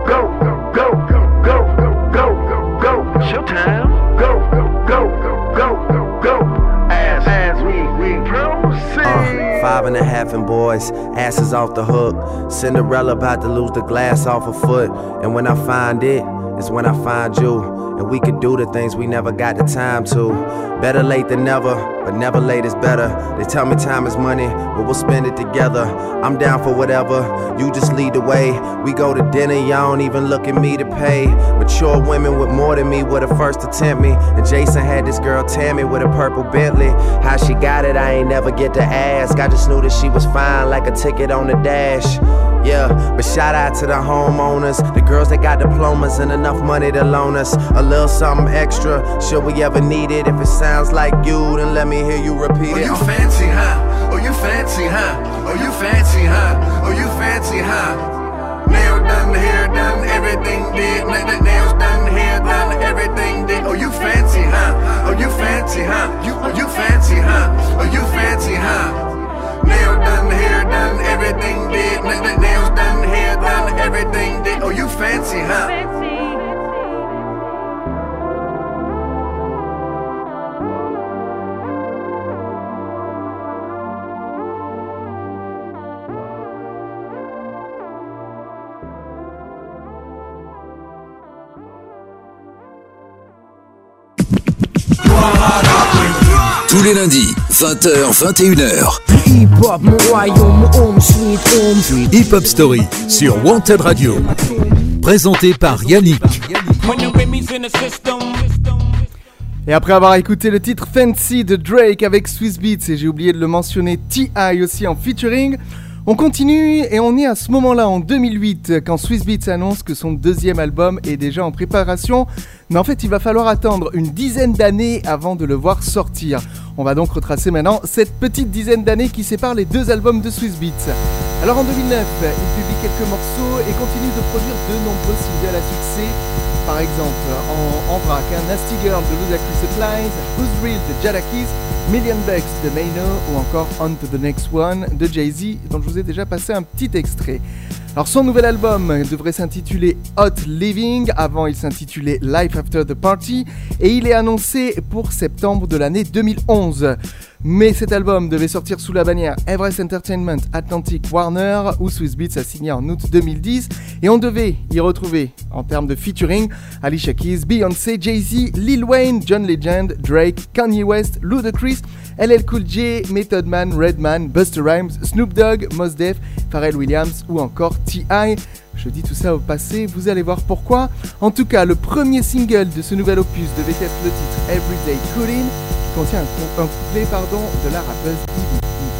go, go, go, go, go, go. Showtime. Go, go, go, go, go. As we proceed. 5.5 and boys, asses off the hook. Cinderella about to lose the glass off her foot. And when I find it, it's when I find you. And we could do the things we never got the time to. Better late than never, but never late is better. They tell me time is money, but we'll spend it together. I'm down for whatever, you just lead the way. We go to dinner, y'all don't even look at me to pay. Mature women with more than me were the first to tempt me. And Jason had this girl Tammy with a purple Bentley. How she got it, I ain't never get to ask. I just knew that she was fine, like a ticket on the dash. Yeah, but shout out to the homeowners, the girls that got diplomas and enough money to loan us a little something extra, should we ever need it. If it sounds like you, then let me hear you repeat it. Oh, you fancy, huh? Oh, you fancy, huh? Oh, you fancy, huh? Oh, you fancy, huh? Nail done, hair done, everything did. Nails done, hair done, everything did. Oh, you fancy, huh? Oh, you fancy, huh? Oh, you fancy, huh? Oh, you fancy, huh? Nail done, hair done, everything did. Nails done, hair done, everything did. Oh, you fancy, huh? Tous les lundis, 20h, 21h. Hip-hop, mon royaume, mon home, sweet home. Hip-hop Story sur Wanted Radio. Présenté par Yannick. Et après avoir écouté le titre Fancy de Drake avec Swizz Beatz, et j'ai oublié de le mentionner, T.I. aussi en featuring, on continue et on est à ce moment-là en 2008 quand Swizz Beatz annonce que son deuxième album est déjà en préparation. Mais en fait, il va falloir attendre une dizaine d'années avant de le voir sortir. On va donc retracer maintenant cette petite dizaine d'années qui sépare les deux albums de Swizz Beatz. Alors en 2009, il publie quelques morceaux et continue de produire de nombreux singles à succès. Par exemple, en vrac, Nasty Girl de Ludacris Supplies, Who's Real de Jadakiss, Million Bucks de Mano ou encore On to the Next One de Jay-Z, dont je vous ai déjà passé un petit extrait. Alors son nouvel album devrait s'intituler Hot Living, avant il s'intitulait Life After the Party, et il est annoncé pour septembre de l'année 2011. Mais cet album devait sortir sous la bannière Everest Entertainment Atlantic Warner, où Swizz Beatz a signé en août 2010, et on devait y retrouver, en termes de featuring, Alicia Keys, Beyoncé, Jay-Z, Lil Wayne, John Legend, Drake, Kanye West, Ludacris, LL Cool J, Method Man, Redman, Busta Rhymes, Snoop Dogg, Mos Def, Pharrell Williams ou encore T.I. Je dis tout ça au passé, vous allez voir pourquoi. En tout cas, le premier single de ce nouvel opus devait être le titre Everyday Coolin', qui contient un couplet de la rappeuse Ivy.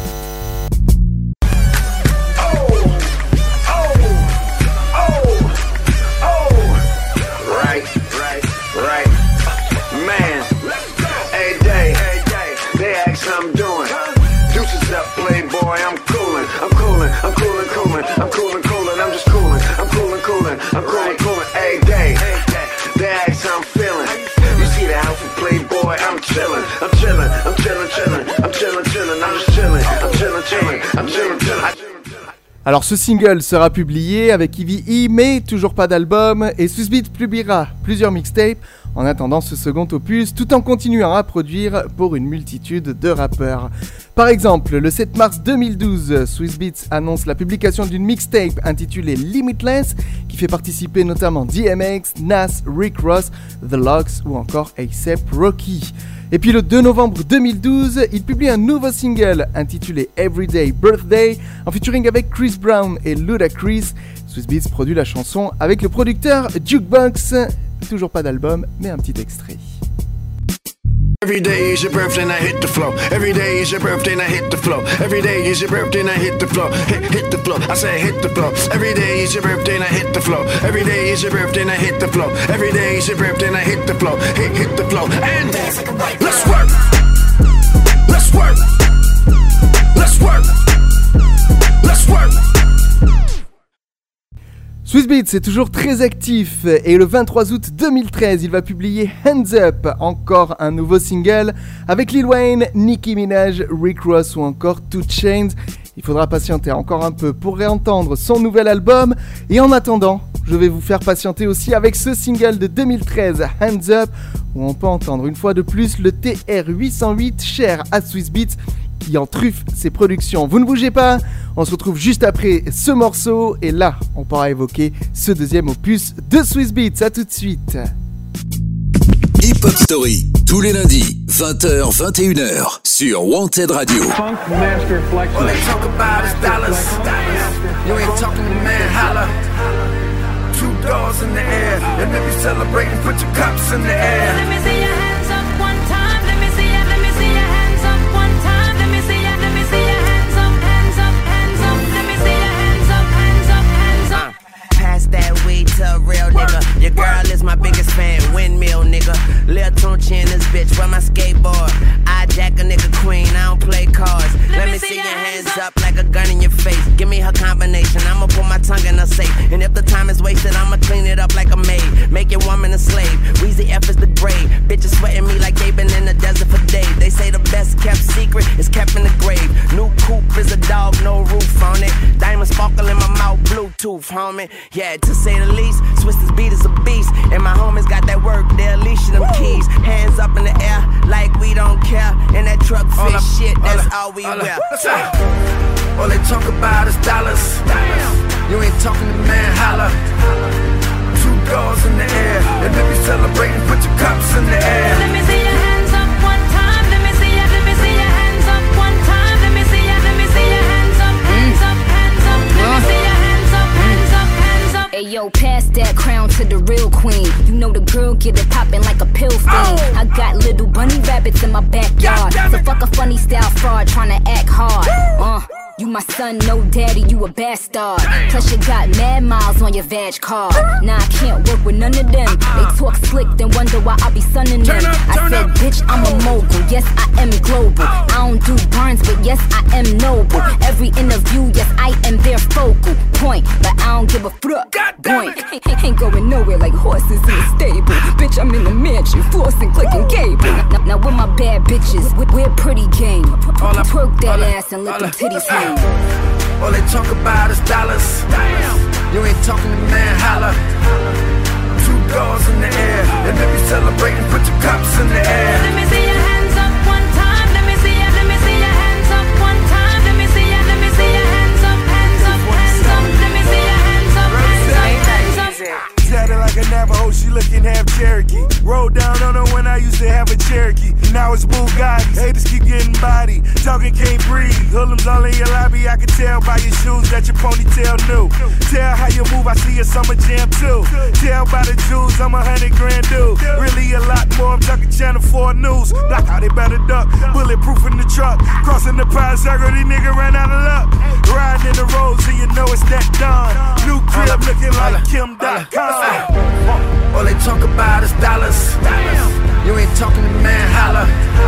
Right, man. Hey, day, they ask how I'm doing. Deuces up, playboy, I'm coolin'. I'm just coolin'. Hey, day, they ask how I'm feeling. You see the outfit, playboy, I'm chillin'. I'm just chillin'. Alors ce single sera publié avec Ivy, mais toujours pas d'album, et Swizz Beatz publiera plusieurs mixtapes en attendant ce second opus, tout en continuant à produire pour une multitude de rappeurs. Par exemple, le 7 mars 2012, Swizz Beatz annonce la publication d'une mixtape intitulée Limitless, qui fait participer notamment DMX, Nas, Rick Ross, The Lox ou encore A$AP Rocky. Et puis le 2 novembre 2012, il publie un nouveau single intitulé Everyday Birthday, en featuring avec Chris Brown et Ludacris. Swizz Beatz produit la chanson avec le producteur Jukebox. Toujours pas d'album, mais un petit extrait. Every day is your birthday and I hit the flow. Every day is your birthday and I hit the flow. Every day is your birthday and I hit the flow. Hit the flow. I say hit the flow. Every day is your birthday and I hit the flow. Every day is your birthday and I hit the flow. Every day is your birthday and I hit the flow. Hit the flow. And let's work. Let's work. Let's work. Let's work. Swizz Beatz est toujours très actif et le 23 août 2013, il va publier Hands Up, encore un nouveau single avec Lil Wayne, Nicki Minaj, Rick Ross ou encore 2 Chainz. Il faudra patienter encore un peu pour réentendre son nouvel album, et en attendant, je vais vous faire patienter aussi avec ce single de 2013, Hands Up, où on peut entendre une fois de plus le TR-808 cher à Swizz Beatz, qui en truffe ses productions. Vous ne bougez pas, on se retrouve juste après ce morceau, et là, on pourra évoquer ce deuxième opus de Swizz Beatz. À tout de suite. Hip Hop Story, tous les lundis, 20h, 21h, sur Wanted Radio. Funk Master Flex. All they talk about is dollars. You ain't talking to man, holla. $2 in the air, and if you celebrating, put your cups in the air. Let me see your hands up one time. Let me see your hands up one time. Let me see your hands up, hands up, hands up. Let me see your hands up, hands up, hands up. Pass that weed to a real nigga. Your girl is my biggest fan, windmill nigga. Lil Tunchi in this bitch, run my skateboard. I jack a nigga queen, I don't play cards. Let me see your hands up like a gun in your face. Give me her combination, I'ma put my tongue in her safe. And if the time is wasted, I'ma clean it up like a maid. Make your woman a slave, Weezy F is the grave. Bitches sweating me like they been in the desert for days. They say the best kept secret is kept in the grave. New coupe is a dog, no roof on it. Diamond sparkle in my mouth, Bluetooth, homie. Yeah, to say the least, Swizz Beatz is a beast. And my homies got that work, they'll leash them keys. Hands up in the air, like we don't care. And that truck fit shit, that's all we wear. All they talk about is dollars. You ain't talking to man, holla. $2 in the air, and if you celebrating, put your cups in the air. Let me see your hands up one time. Let me see your hands up one time. Let me see your hands up, hands up, hands up. Let me see your hands up, hands up, hands up. Hey yo, pass that crown to the real queen. You know the girl get it poppin' like a pill fiend. I got little bunny rabbits in my backyard. So fuck a funny style fraud tryna act hard. You my son, no daddy, you a bastard. Plus you got mad miles on your vag card. Nah, I can't work with none of them. They talk slick, then wonder why I be sunning them. I said, bitch, I'm a mogul, yes, I am global. I don't do burns, but yes, I am noble. Every interview, yes, I am their focal point. But I don't give a fuck, boink. Ain't going nowhere like horses in the stable. Bitch, I'm in the mansion, flossing, clicking cable. Now with my bad bitches, we're pretty game. Twerk that ass and let them titties hang. All they talk about is dollars. You ain't talking to man, holla. 2 doors in the air, and if you celebrating, put your cups in the air. Let me see your hands up one time. Let me see your hands up one time. Let me see your hands up, hands up, hands up. Let me see your hands up, hands up, hands up. Tatted like a Navajo, she looking half Cherokee. Rolled down on her when I used to have a Cherokee. Now it's Bugattis, haters keep getting body. Talking can't breathe, hoodlums all in your lobby. I can tell by your shoes that your ponytail new. Tell how you move, I see a summer jam too. Tell by the jewels, I'm $100 grand dude. Really a lot more, I'm talking Channel 4 News. Like how they better duck, bulletproof in the truck. Crossing the pie circle, these niggas ran out of luck. Riding in the road, so you know it's that done. New crib looking like Kim.com. All they talk about is dollars. You ain't talking to man, holla.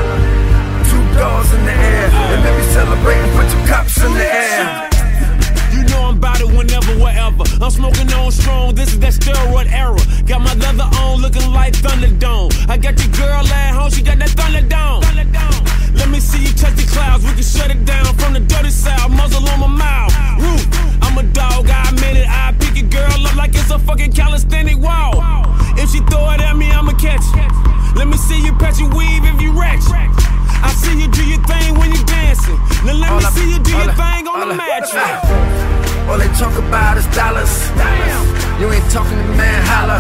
2 doors in the air, and if you celebrating, put your cups in the air. You know I'm about it whenever, wherever. I'm smoking on strong, this is that steroid era. Got my leather on, looking like Thunderdome. I got your girl at home, she got that Thunderdome. Let me see you touch the clouds, we can shut it down from the dirty south. Muzzle on my mouth, roof. I'm a dog, I admit it. I pick your girl up like it's a fucking calisthenic wall. If she throw it at me, I'ma catch it. Let me see you patch your weave if you ratchet. I see you do your thing when you dancing. Now let me see you do your thing on the mattress. All they talk about is dollars. You ain't talking to man, holla.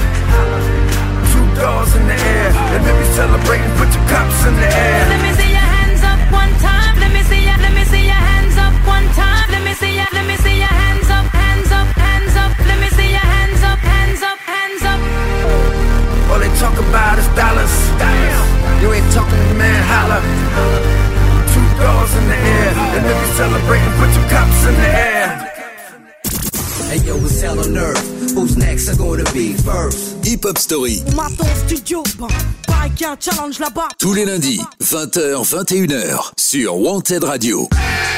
2 doors in the air, and if you celebrating, put your cups in the air. Let me see your hands up one time. Let me see your hands up one time. Let me see your hands up, hands up, hands up. Let me see your hands up, hands up, hands up. All they talk about is dollars. You ain't talking to man, holla. 2 doors in the air, and if you celebrating, put your cups in the air. Hey yo, it's hell on earth. Who's next are gonna be first? Hip Hop Story. On m'attend au studio, pareil qu'il y a un challenge là-bas. Tous les lundis, 20h, 21h, sur Wanted Radio.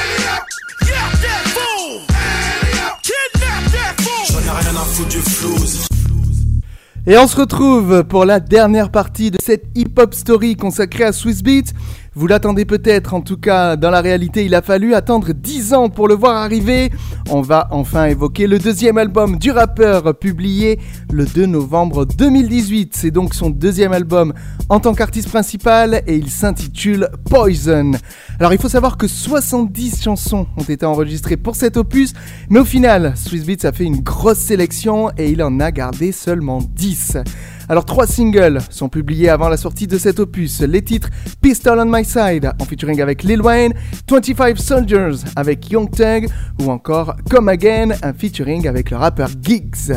J'en ai rien à foutre du flouze. Et on se retrouve pour la dernière partie de cette hip-hop story consacrée à Swizz Beatz. Vous l'attendez peut-être, en tout cas dans la réalité il a fallu attendre 10 ans pour le voir arriver. On va enfin évoquer le 2e album du rappeur publié le 2 novembre 2018. C'est donc son 2e album en tant qu'artiste principal et il s'intitule Poison. Alors il faut savoir que 70 chansons ont été enregistrées pour cet opus, mais au final Swizz Beatz a fait une grosse sélection et il en a gardé seulement 10. Alors 3 singles sont publiés avant la sortie de cet opus. Les titres Pistol on My Side en featuring avec Lil Wayne, 25 Soldiers avec Young Thug ou encore Come Again, un featuring avec le rappeur Giggs.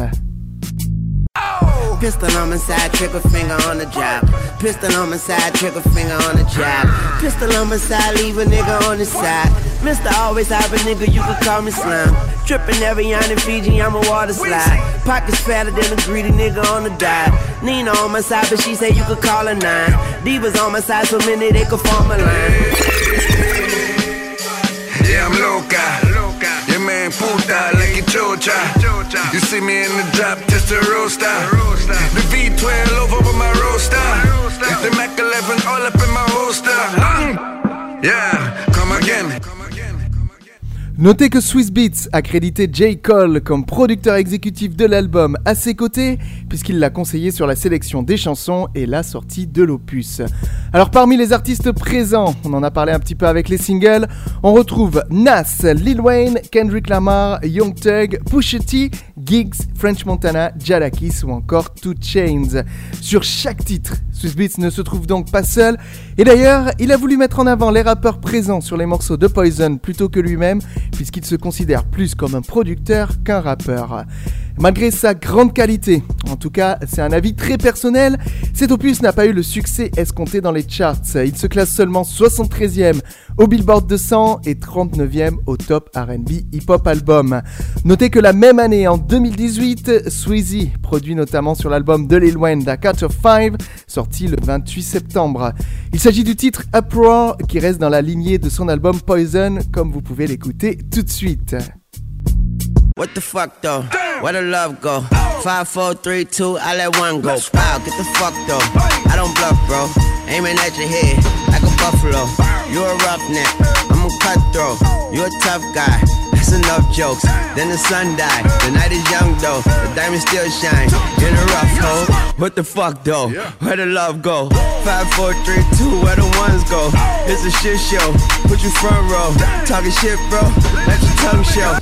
Pistol on my side, trigger finger on the job. Pistol on my side, trigger finger on the job. Pistol on my side, leave a nigga on the side. Mr. Always have a nigga, you can call me slime. Trippin' every on in Fiji, I'm a water slide. Pockets fatter than a greedy nigga on the dive. Nina on my side, but she say you could call her 9. Divas on my side, so many they could form a line. Yeah, I'm loca. Your man puta like a chocha. You see me in the drop, just a roaster. The V12 over my roaster. The Mac 11 all up in my holster. Yeah, come again. Notez que Swizz Beatz a crédité J. Cole comme producteur exécutif de l'album à ses côtés, puisqu'il l'a conseillé sur la sélection des chansons et la sortie de l'opus. Alors parmi les artistes présents, on en a parlé un petit peu avec les singles, on retrouve Nas, Lil Wayne, Kendrick Lamar, Young Thug, Pusha T, Giggs, French Montana, Jadakiss ou encore 2 Chainz. Sur chaque titre, Swizz Beatz ne se trouve donc pas seul, et d'ailleurs, il a voulu mettre en avant les rappeurs présents sur les morceaux de Poison plutôt que lui-même, puisqu'il se considère plus comme un producteur qu'un rappeur. Malgré sa grande qualité, en tout cas c'est un avis très personnel, cet opus n'a pas eu le succès escompté dans les charts. Il se classe seulement 73e au Billboard 200 et 39e au Top R&B Hip Hop Album. Notez que la même année, en 2018, Sweezy produit notamment sur l'album de Lil Wayne, The Cut of Five, sorti le 28 septembre. Il s'agit du titre Uproar qui reste dans la lignée de son album Poison, comme vous pouvez l'écouter tout de suite. What the fuck though? Where the love go? 5, 4, 3, 2, I let one go. Wow, get the fuck though. I don't bluff, bro. Aiming at your head like a buffalo. You're a roughneck, I'm a cutthroat. You're a tough guy. That's enough jokes. Then the sun died. The night is young though. The diamonds still shine in a rough hole. What the fuck though? Where the love go? 5, 4, 3, 2, where the ones go? It's a shit show. Put you front row. Talking shit, bro. Let your tongue show.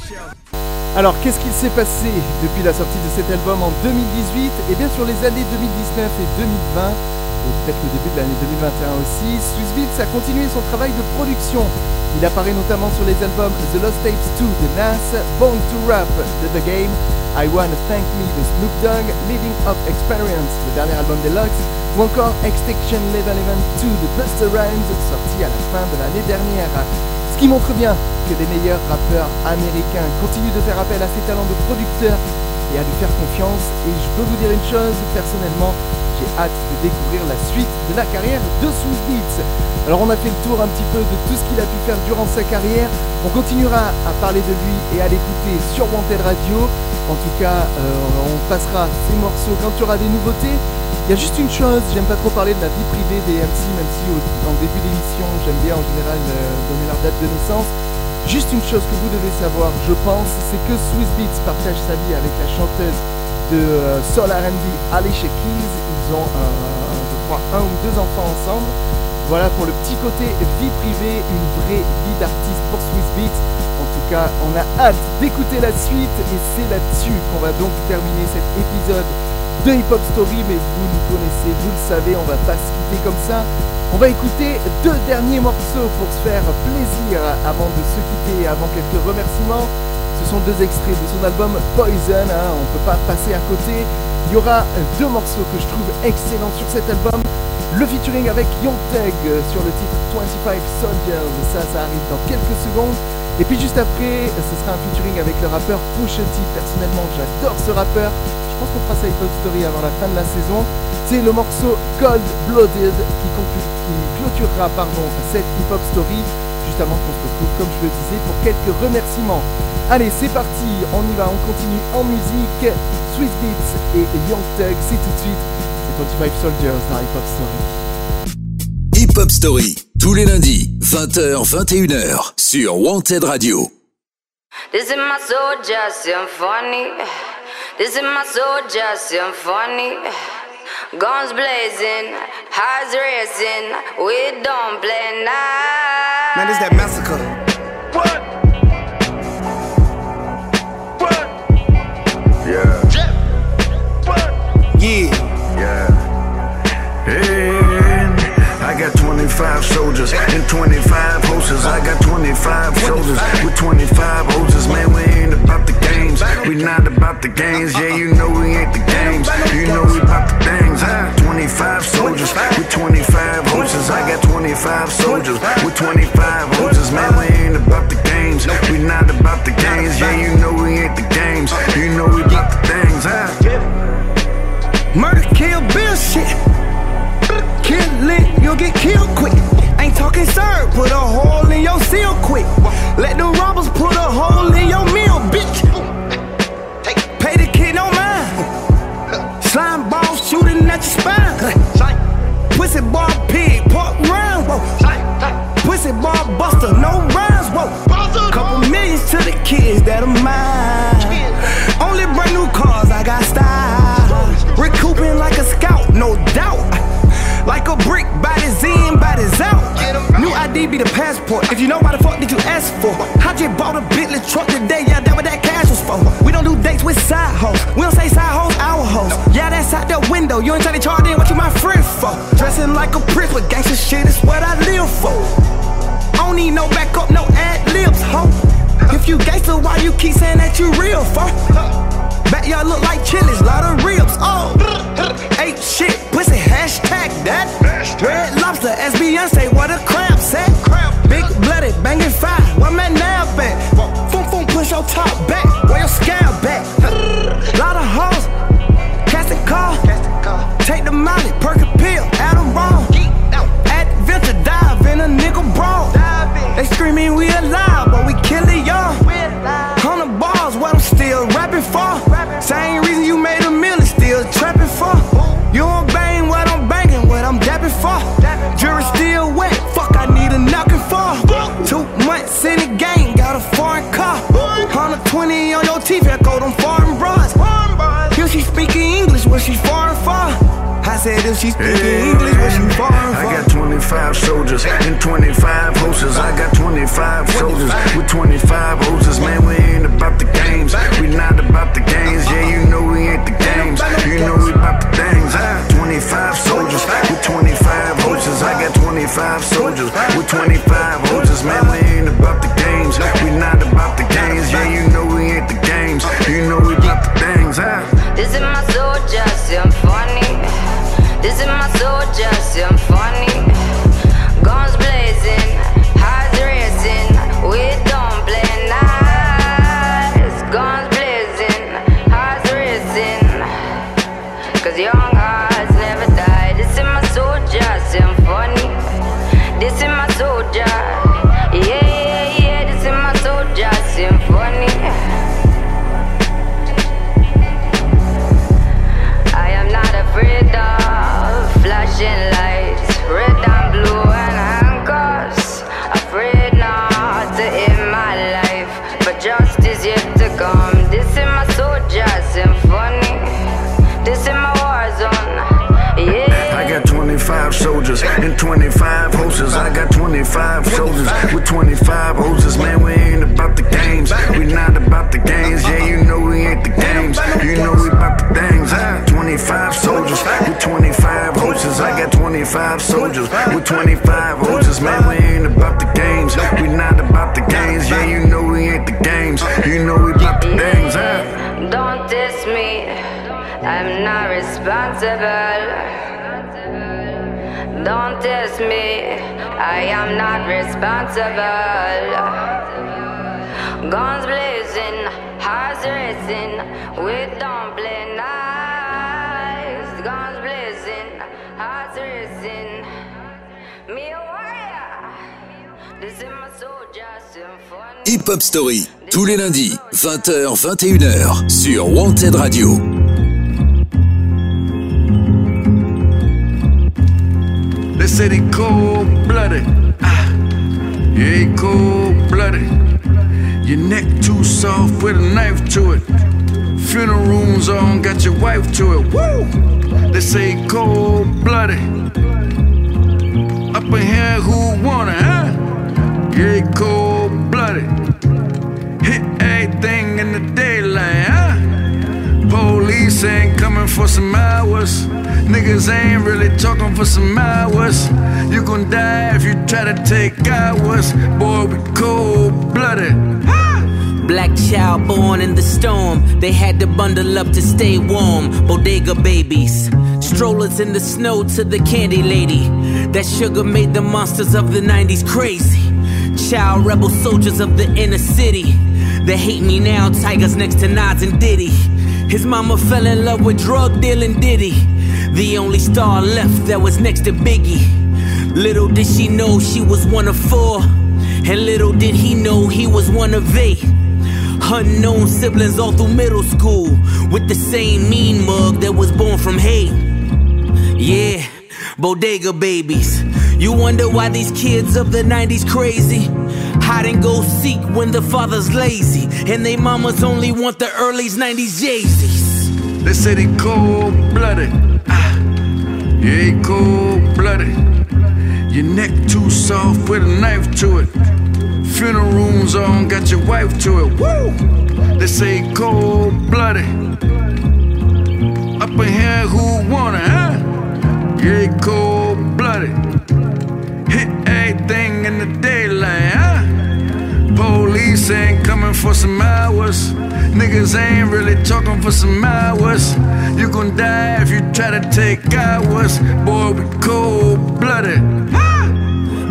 Alors, qu'est-ce qu'il s'est passé depuis la sortie de cet album en 2018 ? Eh bien, sur les années 2019 et 2020, et peut-être le début de l'année 2021 aussi, Swizz Beatz a continué son travail de production. Il apparaît notamment sur les albums The Lost Tapes 2 de Nas, Born to Rap de The Game, I Wanna Thank Me de Snoop Dogg, Living Up Experience, le dernier album Deluxe, ou encore Extinction Level 2 de Busta Rhymes, sorti à la fin de l'année dernière. Ce qui montre bien que les meilleurs rappeurs américains continuent de faire appel à ses talents de producteurs et à lui faire confiance. Et je peux vous dire une chose, personnellement, j'ai hâte de découvrir la suite de la carrière de Swizz Beatz. Alors on a fait le tour un petit peu de tout ce qu'il a pu faire durant sa carrière. On continuera à parler de lui et à l'écouter sur Wanted Radio. En tout cas, on passera ces morceaux quand il y aura des nouveautés. Il y a juste une chose, j'aime pas trop parler de la vie privée des MC, même si en début d'émission, j'aime bien en général donner leur date de naissance. Juste une chose que vous devez savoir, je pense, c'est que Swizz Beatz partage sa vie avec la chanteuse de Soul R&B, Alicia Keys. Ils ont, je crois, 1 ou 2 enfants ensemble. Voilà pour le petit côté vie privée, une vraie vie d'artiste pour Swizz Beatz. En tout cas, on a hâte d'écouter la suite et c'est là-dessus qu'on va donc terminer cet épisode de Hip Hop Story, mais vous nous connaissez, vous le savez, on va pas se quitter comme ça. On va écouter 2 derniers morceaux pour se faire plaisir avant de se quitter, avant quelques remerciements. Ce sont 2 extraits de son album Poison, on peut pas passer à côté. Il y aura 2 morceaux que je trouve excellents sur cet album. Le featuring avec Young Thug sur le titre 25 Soldiers, ça arrive dans quelques secondes. Et puis juste après, ce sera un featuring avec le rappeur Pusha T. Personnellement, j'adore ce rappeur. Je pense qu'on fera sa Hip Hop Story avant la fin de la saison. C'est le morceau Cold Blooded qui clôturera cette Hip Hop Story. Juste avant qu'on se retrouve, comme je le disais, pour quelques remerciements. Allez, c'est parti, on y va, on continue en musique. Swizz Beatz et Young Thug, c'est tout de suite. C'est 25 Soldiers dans Hip Hop Story. Hip Hop Story, tous les lundis, 20h-21h, sur Wanted Radio. This is my soldier symphony. This is my soldier symphony. Guns blazing, hearts racing. We don't play now. Man, this that massacre. What? Yeah. What? Yeah. And I got 25 soldiers and 25 horses. I got 25 soldiers with 25 horses. Man, we ain't about the games. We not about the games. Yeah, you know we ain't the games. You know we about the things. I got 25 soldiers with 25 horses. I got 25 soldiers with 25 horses. Man, we ain't about the games. We not about the games. Yeah, you know we ain't the games. You know we about the things. Murder, kill, bill shit. Kill it, you'll get killed quick. Ain't talking sir, put a hole in your seal quick. Let the robbers put a hole in your meal, bitch. Pay the kid no mind. Slime ball shooting at your spine. Pussy ball pig, pork round, whoa. Pussy ball buster, no rhymes, whoa. Couple millions to the kids that are mine. Only brand new cars, I got style. Recouping like a scout, no doubt. Like a brick, bodies in, bodies out. New ID be the passport. If you know why the fuck did you ask for? I just bought a Bentley truck today, yeah, that what that cash was for. We don't do dates with side hoes. We don't say side hoes, our hoes. Yeah, that's out the window. You ain't trying to charge in what you my friend for. Dressing like a prince with gangsta shit is what I live for. I don't need no backup, no ad libs, ho. If you gangsta, why you keep saying that you real for? Ask Beyonce what a crab said. Big blooded, banging fire, where my nab at? Boom, boom, push your top back, where your scab at? Lot of hoes, casting call. Take the molly, perk a pill, Adderall. Adventure dive in a nigga brawl. They screaming we alive, but we kill it, y'all. 100 bars, what I'm still rapping for. Same reason you made a million, still trapping for. You don't bang what I'm banging, what I'm dapping for. Jury still wet, fuck I need a knocking for. 2 months in the game, got a foreign car. 120 on your teeth, echo them foreign bras. If she speaking English, what she foreign for? I said if she speaking English, what she foreign for? I got 25 soldiers and 25 hoses. I got 25 soldiers with 25 hoses. Man, we ain't about the games. We not about the games. Yeah, you know we ain't the games. You know we about the things. I got 25 soldiers with 25 hoses. I got 25 soldiers with 25 hoses. Man, we ain't about the games. We not about the games. Yeah, you know we ain't the games. You know we about the things. This is my soldier symphony. This is my soldier symphony. Guns blazing, hearts racing. We don't play nice. Guns blazing, hearts racing. 'Cause young hearts never die. This is my soldier symphony. This is my soldier. Yeah, yeah, yeah. This is my soldier symphony. I am not afraid of flashing lights, red and blue and handcuffs. Afraid not to end my life, but justice yet to come. This is my soldier symphony. This is my war zone. Yeah. I got 25 soldiers and 25 hoses. I got 25 soldiers with 25 hoses. Man, we ain't about the games. We not about the games. Yeah, you know we ain't the games. You know we about the things. I got 25 soldiers with 25 hoses. I got 25 soldiers with 25 hoses. Man, we ain't about the games. We not about the games. Yeah, you know we ain't the games. You know we about the things. Don't diss me, I'm not responsible. Don't test me, I am not responsible. Guns blazing, hearts racing, we don't play nice. Guns blazing, hearts racing, me a warrior. This is my soldier symphony. Hip Hop Story, tous les lundis, 20h, 21h, sur Wanted Radio. They say they cold-blooded. Yeah, he cold-blooded. Your neck too soft with a knife to it. Funeral rooms on, got your wife to it. Woo! They say cold-blooded. Up in here, who want it, huh? Yeah, he cold-blooded. Hit everything in the daylight, huh? Police ain't coming for some hours. Niggas ain't really talking for some hours. You gon' die if you try to take ours. Boy, we cold-blooded. Black child born in the storm. They had to bundle up to stay warm. Bodega babies. Strollers in the snow to the candy lady. That sugar made the monsters of the 90s crazy. Child rebel soldiers of the inner city. They hate me now, tigers next to Nas and Diddy. His mama fell in love with drug dealing Diddy. The only star left that was next to Biggie. Little did she know she was one of 4. And little did he know he was one of 8. Unknown siblings all through middle school. With the same mean mug that was born from hate. Yeah, bodega babies. You wonder why these kids of the 90s crazy. Hide and go seek when the father's lazy. And they mamas only want the early 90s Yeezys. They say they cold-blooded. Yeah, he cold-blooded. Your neck too soft with a knife to it. Funeral rooms on, got your wife to it. Woo! They say cold-blooded. Up in here, who want it, huh? Yeah, he cold-blooded. Hit everything in the daylight, huh? Police ain't coming for some hours. Niggas ain't really talking for some hours. You gon' die if you try to take ours. Boy, we cold-blooded.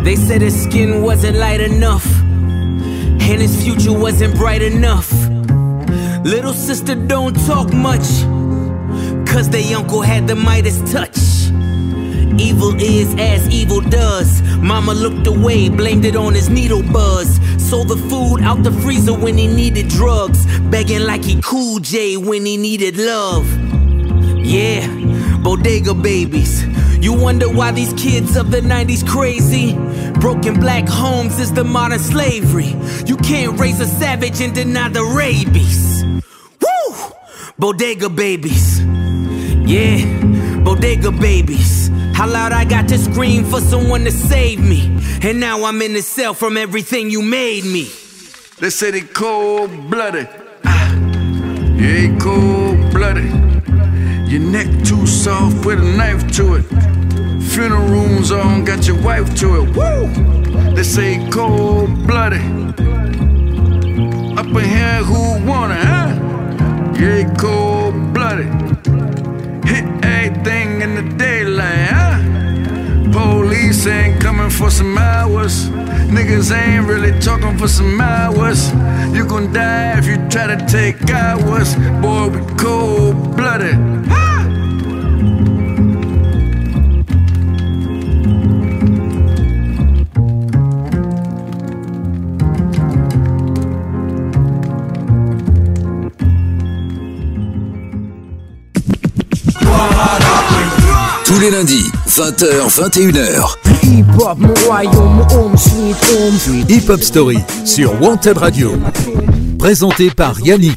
They said his skin wasn't light enough, and his future wasn't bright enough. Little sister don't talk much, cause they uncle had the Midas touch. Evil is as evil does. Mama looked away, blamed it on his needle buzz. Sold the food out the freezer when he needed drugs, begging like he Cool J when he needed love. Yeah, bodega babies. You wonder why these kids of the 90s crazy? Broken black homes is the modern slavery. You can't raise a savage and deny the rabies. Woo! Bodega babies. Yeah, bodega babies. How loud I got to scream for someone to save me. And now I'm in the cell from everything you made me. They say they cold-blooded. Yeah, cold-blooded. Your neck too soft, put a knife to it. Funeral rooms on, got your wife to it. Woo! They say cold-blooded. Up in here, who want it, huh? Yeah, cold-blooded. Hit everything in the daylight, huh? Police ain't coming for some hours. Niggas ain't really talking for some hours. You gon' die if you try to take ours. Boy, we cold-blooded. Tous les lundis, 20h, 21h. Hip-hop, mon royaume, home sweet home. Hip-Hop Story sur Wanted Radio. Présenté par Yannick.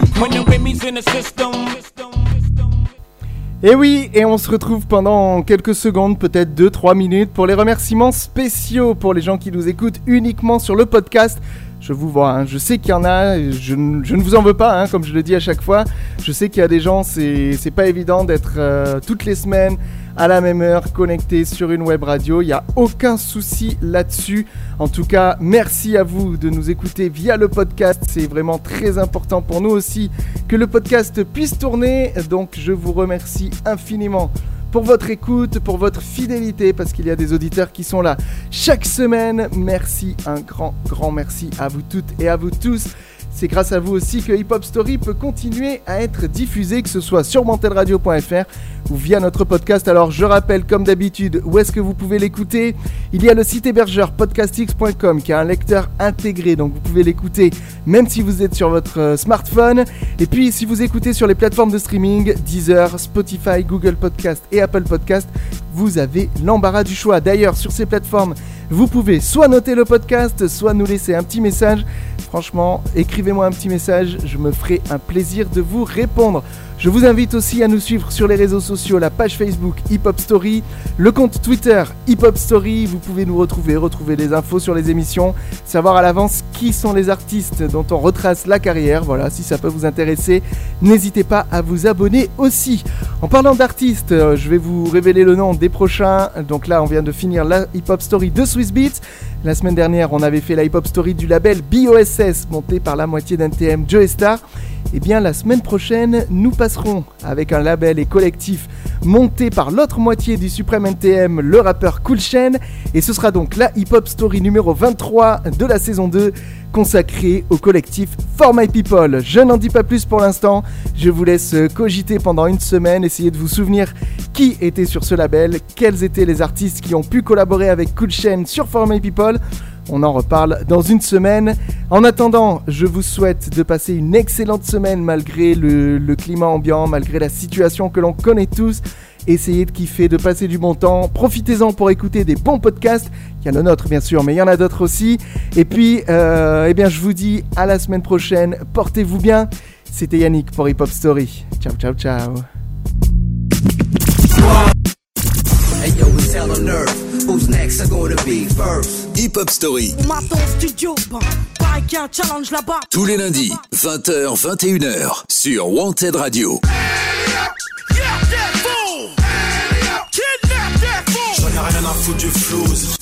Et oui, et on se retrouve pendant quelques secondes, peut-être 2-3 minutes, pour les remerciements spéciaux pour les gens qui nous écoutent uniquement sur le podcast. Je vous vois, hein, je sais qu'il y en a, je ne vous en veux pas, hein, comme je le dis à chaque fois. Je sais qu'il y a des gens, c'est pas évident d'être toutes les semaines à la même heure connectés sur une web radio. Il n'y a aucun souci là-dessus. En tout cas, merci à vous de nous écouter via le podcast. C'est vraiment très important pour nous aussi que le podcast puisse tourner. Donc je vous remercie infiniment pour votre écoute, pour votre fidélité, parce qu'il y a des auditeurs qui sont là chaque semaine. Merci, un grand merci à vous toutes et à vous tous. C'est grâce à vous aussi que Hip Hop Story peut continuer à être diffusé, que ce soit sur wantedradio.fr ou via notre podcast. Alors je rappelle comme d'habitude où est-ce que vous pouvez l'écouter. Il y a le site hébergeur podcastx.com qui a un lecteur intégré, donc vous pouvez l'écouter même si vous êtes sur votre smartphone. Et puis si vous écoutez sur les plateformes de streaming, Deezer, Spotify, Google Podcast et Apple Podcast, vous avez l'embarras du choix. D'ailleurs sur ces plateformes, vous pouvez soit noter le podcast, soit nous laisser un petit message. Franchement, écrivez-moi un petit message, je me ferai un plaisir de vous répondre. Je vous invite aussi à nous suivre sur les réseaux sociaux, la page Facebook Hip Hop Story, le compte Twitter Hip Hop Story. Vous pouvez nous retrouver des infos sur les émissions, savoir à l'avance qui sont les artistes dont on retrace la carrière. Voilà, si ça peut vous intéresser, n'hésitez pas à vous abonner aussi. En parlant d'artistes, je vais vous révéler le nom des prochains. Donc là, on vient de finir la Hip Hop Story de Swiss Beats. La semaine dernière, on avait fait la Hip Hop Story du label BOSS, monté par la moitié d'NTM, Joe Star. Et bien la semaine prochaine, nous passerons avec un label et collectif monté par l'autre moitié du suprême NTM, le rappeur Cool Chain. Et ce sera donc la Hip Hop Story numéro 23 de la saison 2, consacrée au collectif For My People. Je n'en dis pas plus pour l'instant, je vous laisse cogiter pendant une semaine, essayer de vous souvenir qui était sur ce label, quels étaient les artistes qui ont pu collaborer avec Cool Chain sur For My People. On en reparle dans une semaine. En attendant, je vous souhaite de passer une excellente semaine malgré le climat ambiant, malgré la situation que l'on connaît tous. Essayez de kiffer, de passer du bon temps. Profitez-en pour écouter des bons podcasts. Il y a le nôtre bien sûr, mais il y en a d'autres aussi. Et puis, eh bien, je vous dis à la semaine prochaine. Portez-vous bien. C'était Yannick pour Hip Hop Story. Ciao, ciao, ciao. Hey yo, it's hell on earth. Who's next are gonna be first? Hip Hop Story. On m'attend au studio, pareil qu'il y a un challenge là-bas. Tous les lundis, 20h, 21h, sur Wanted Radio. J'en ai rien à foutre du flouze.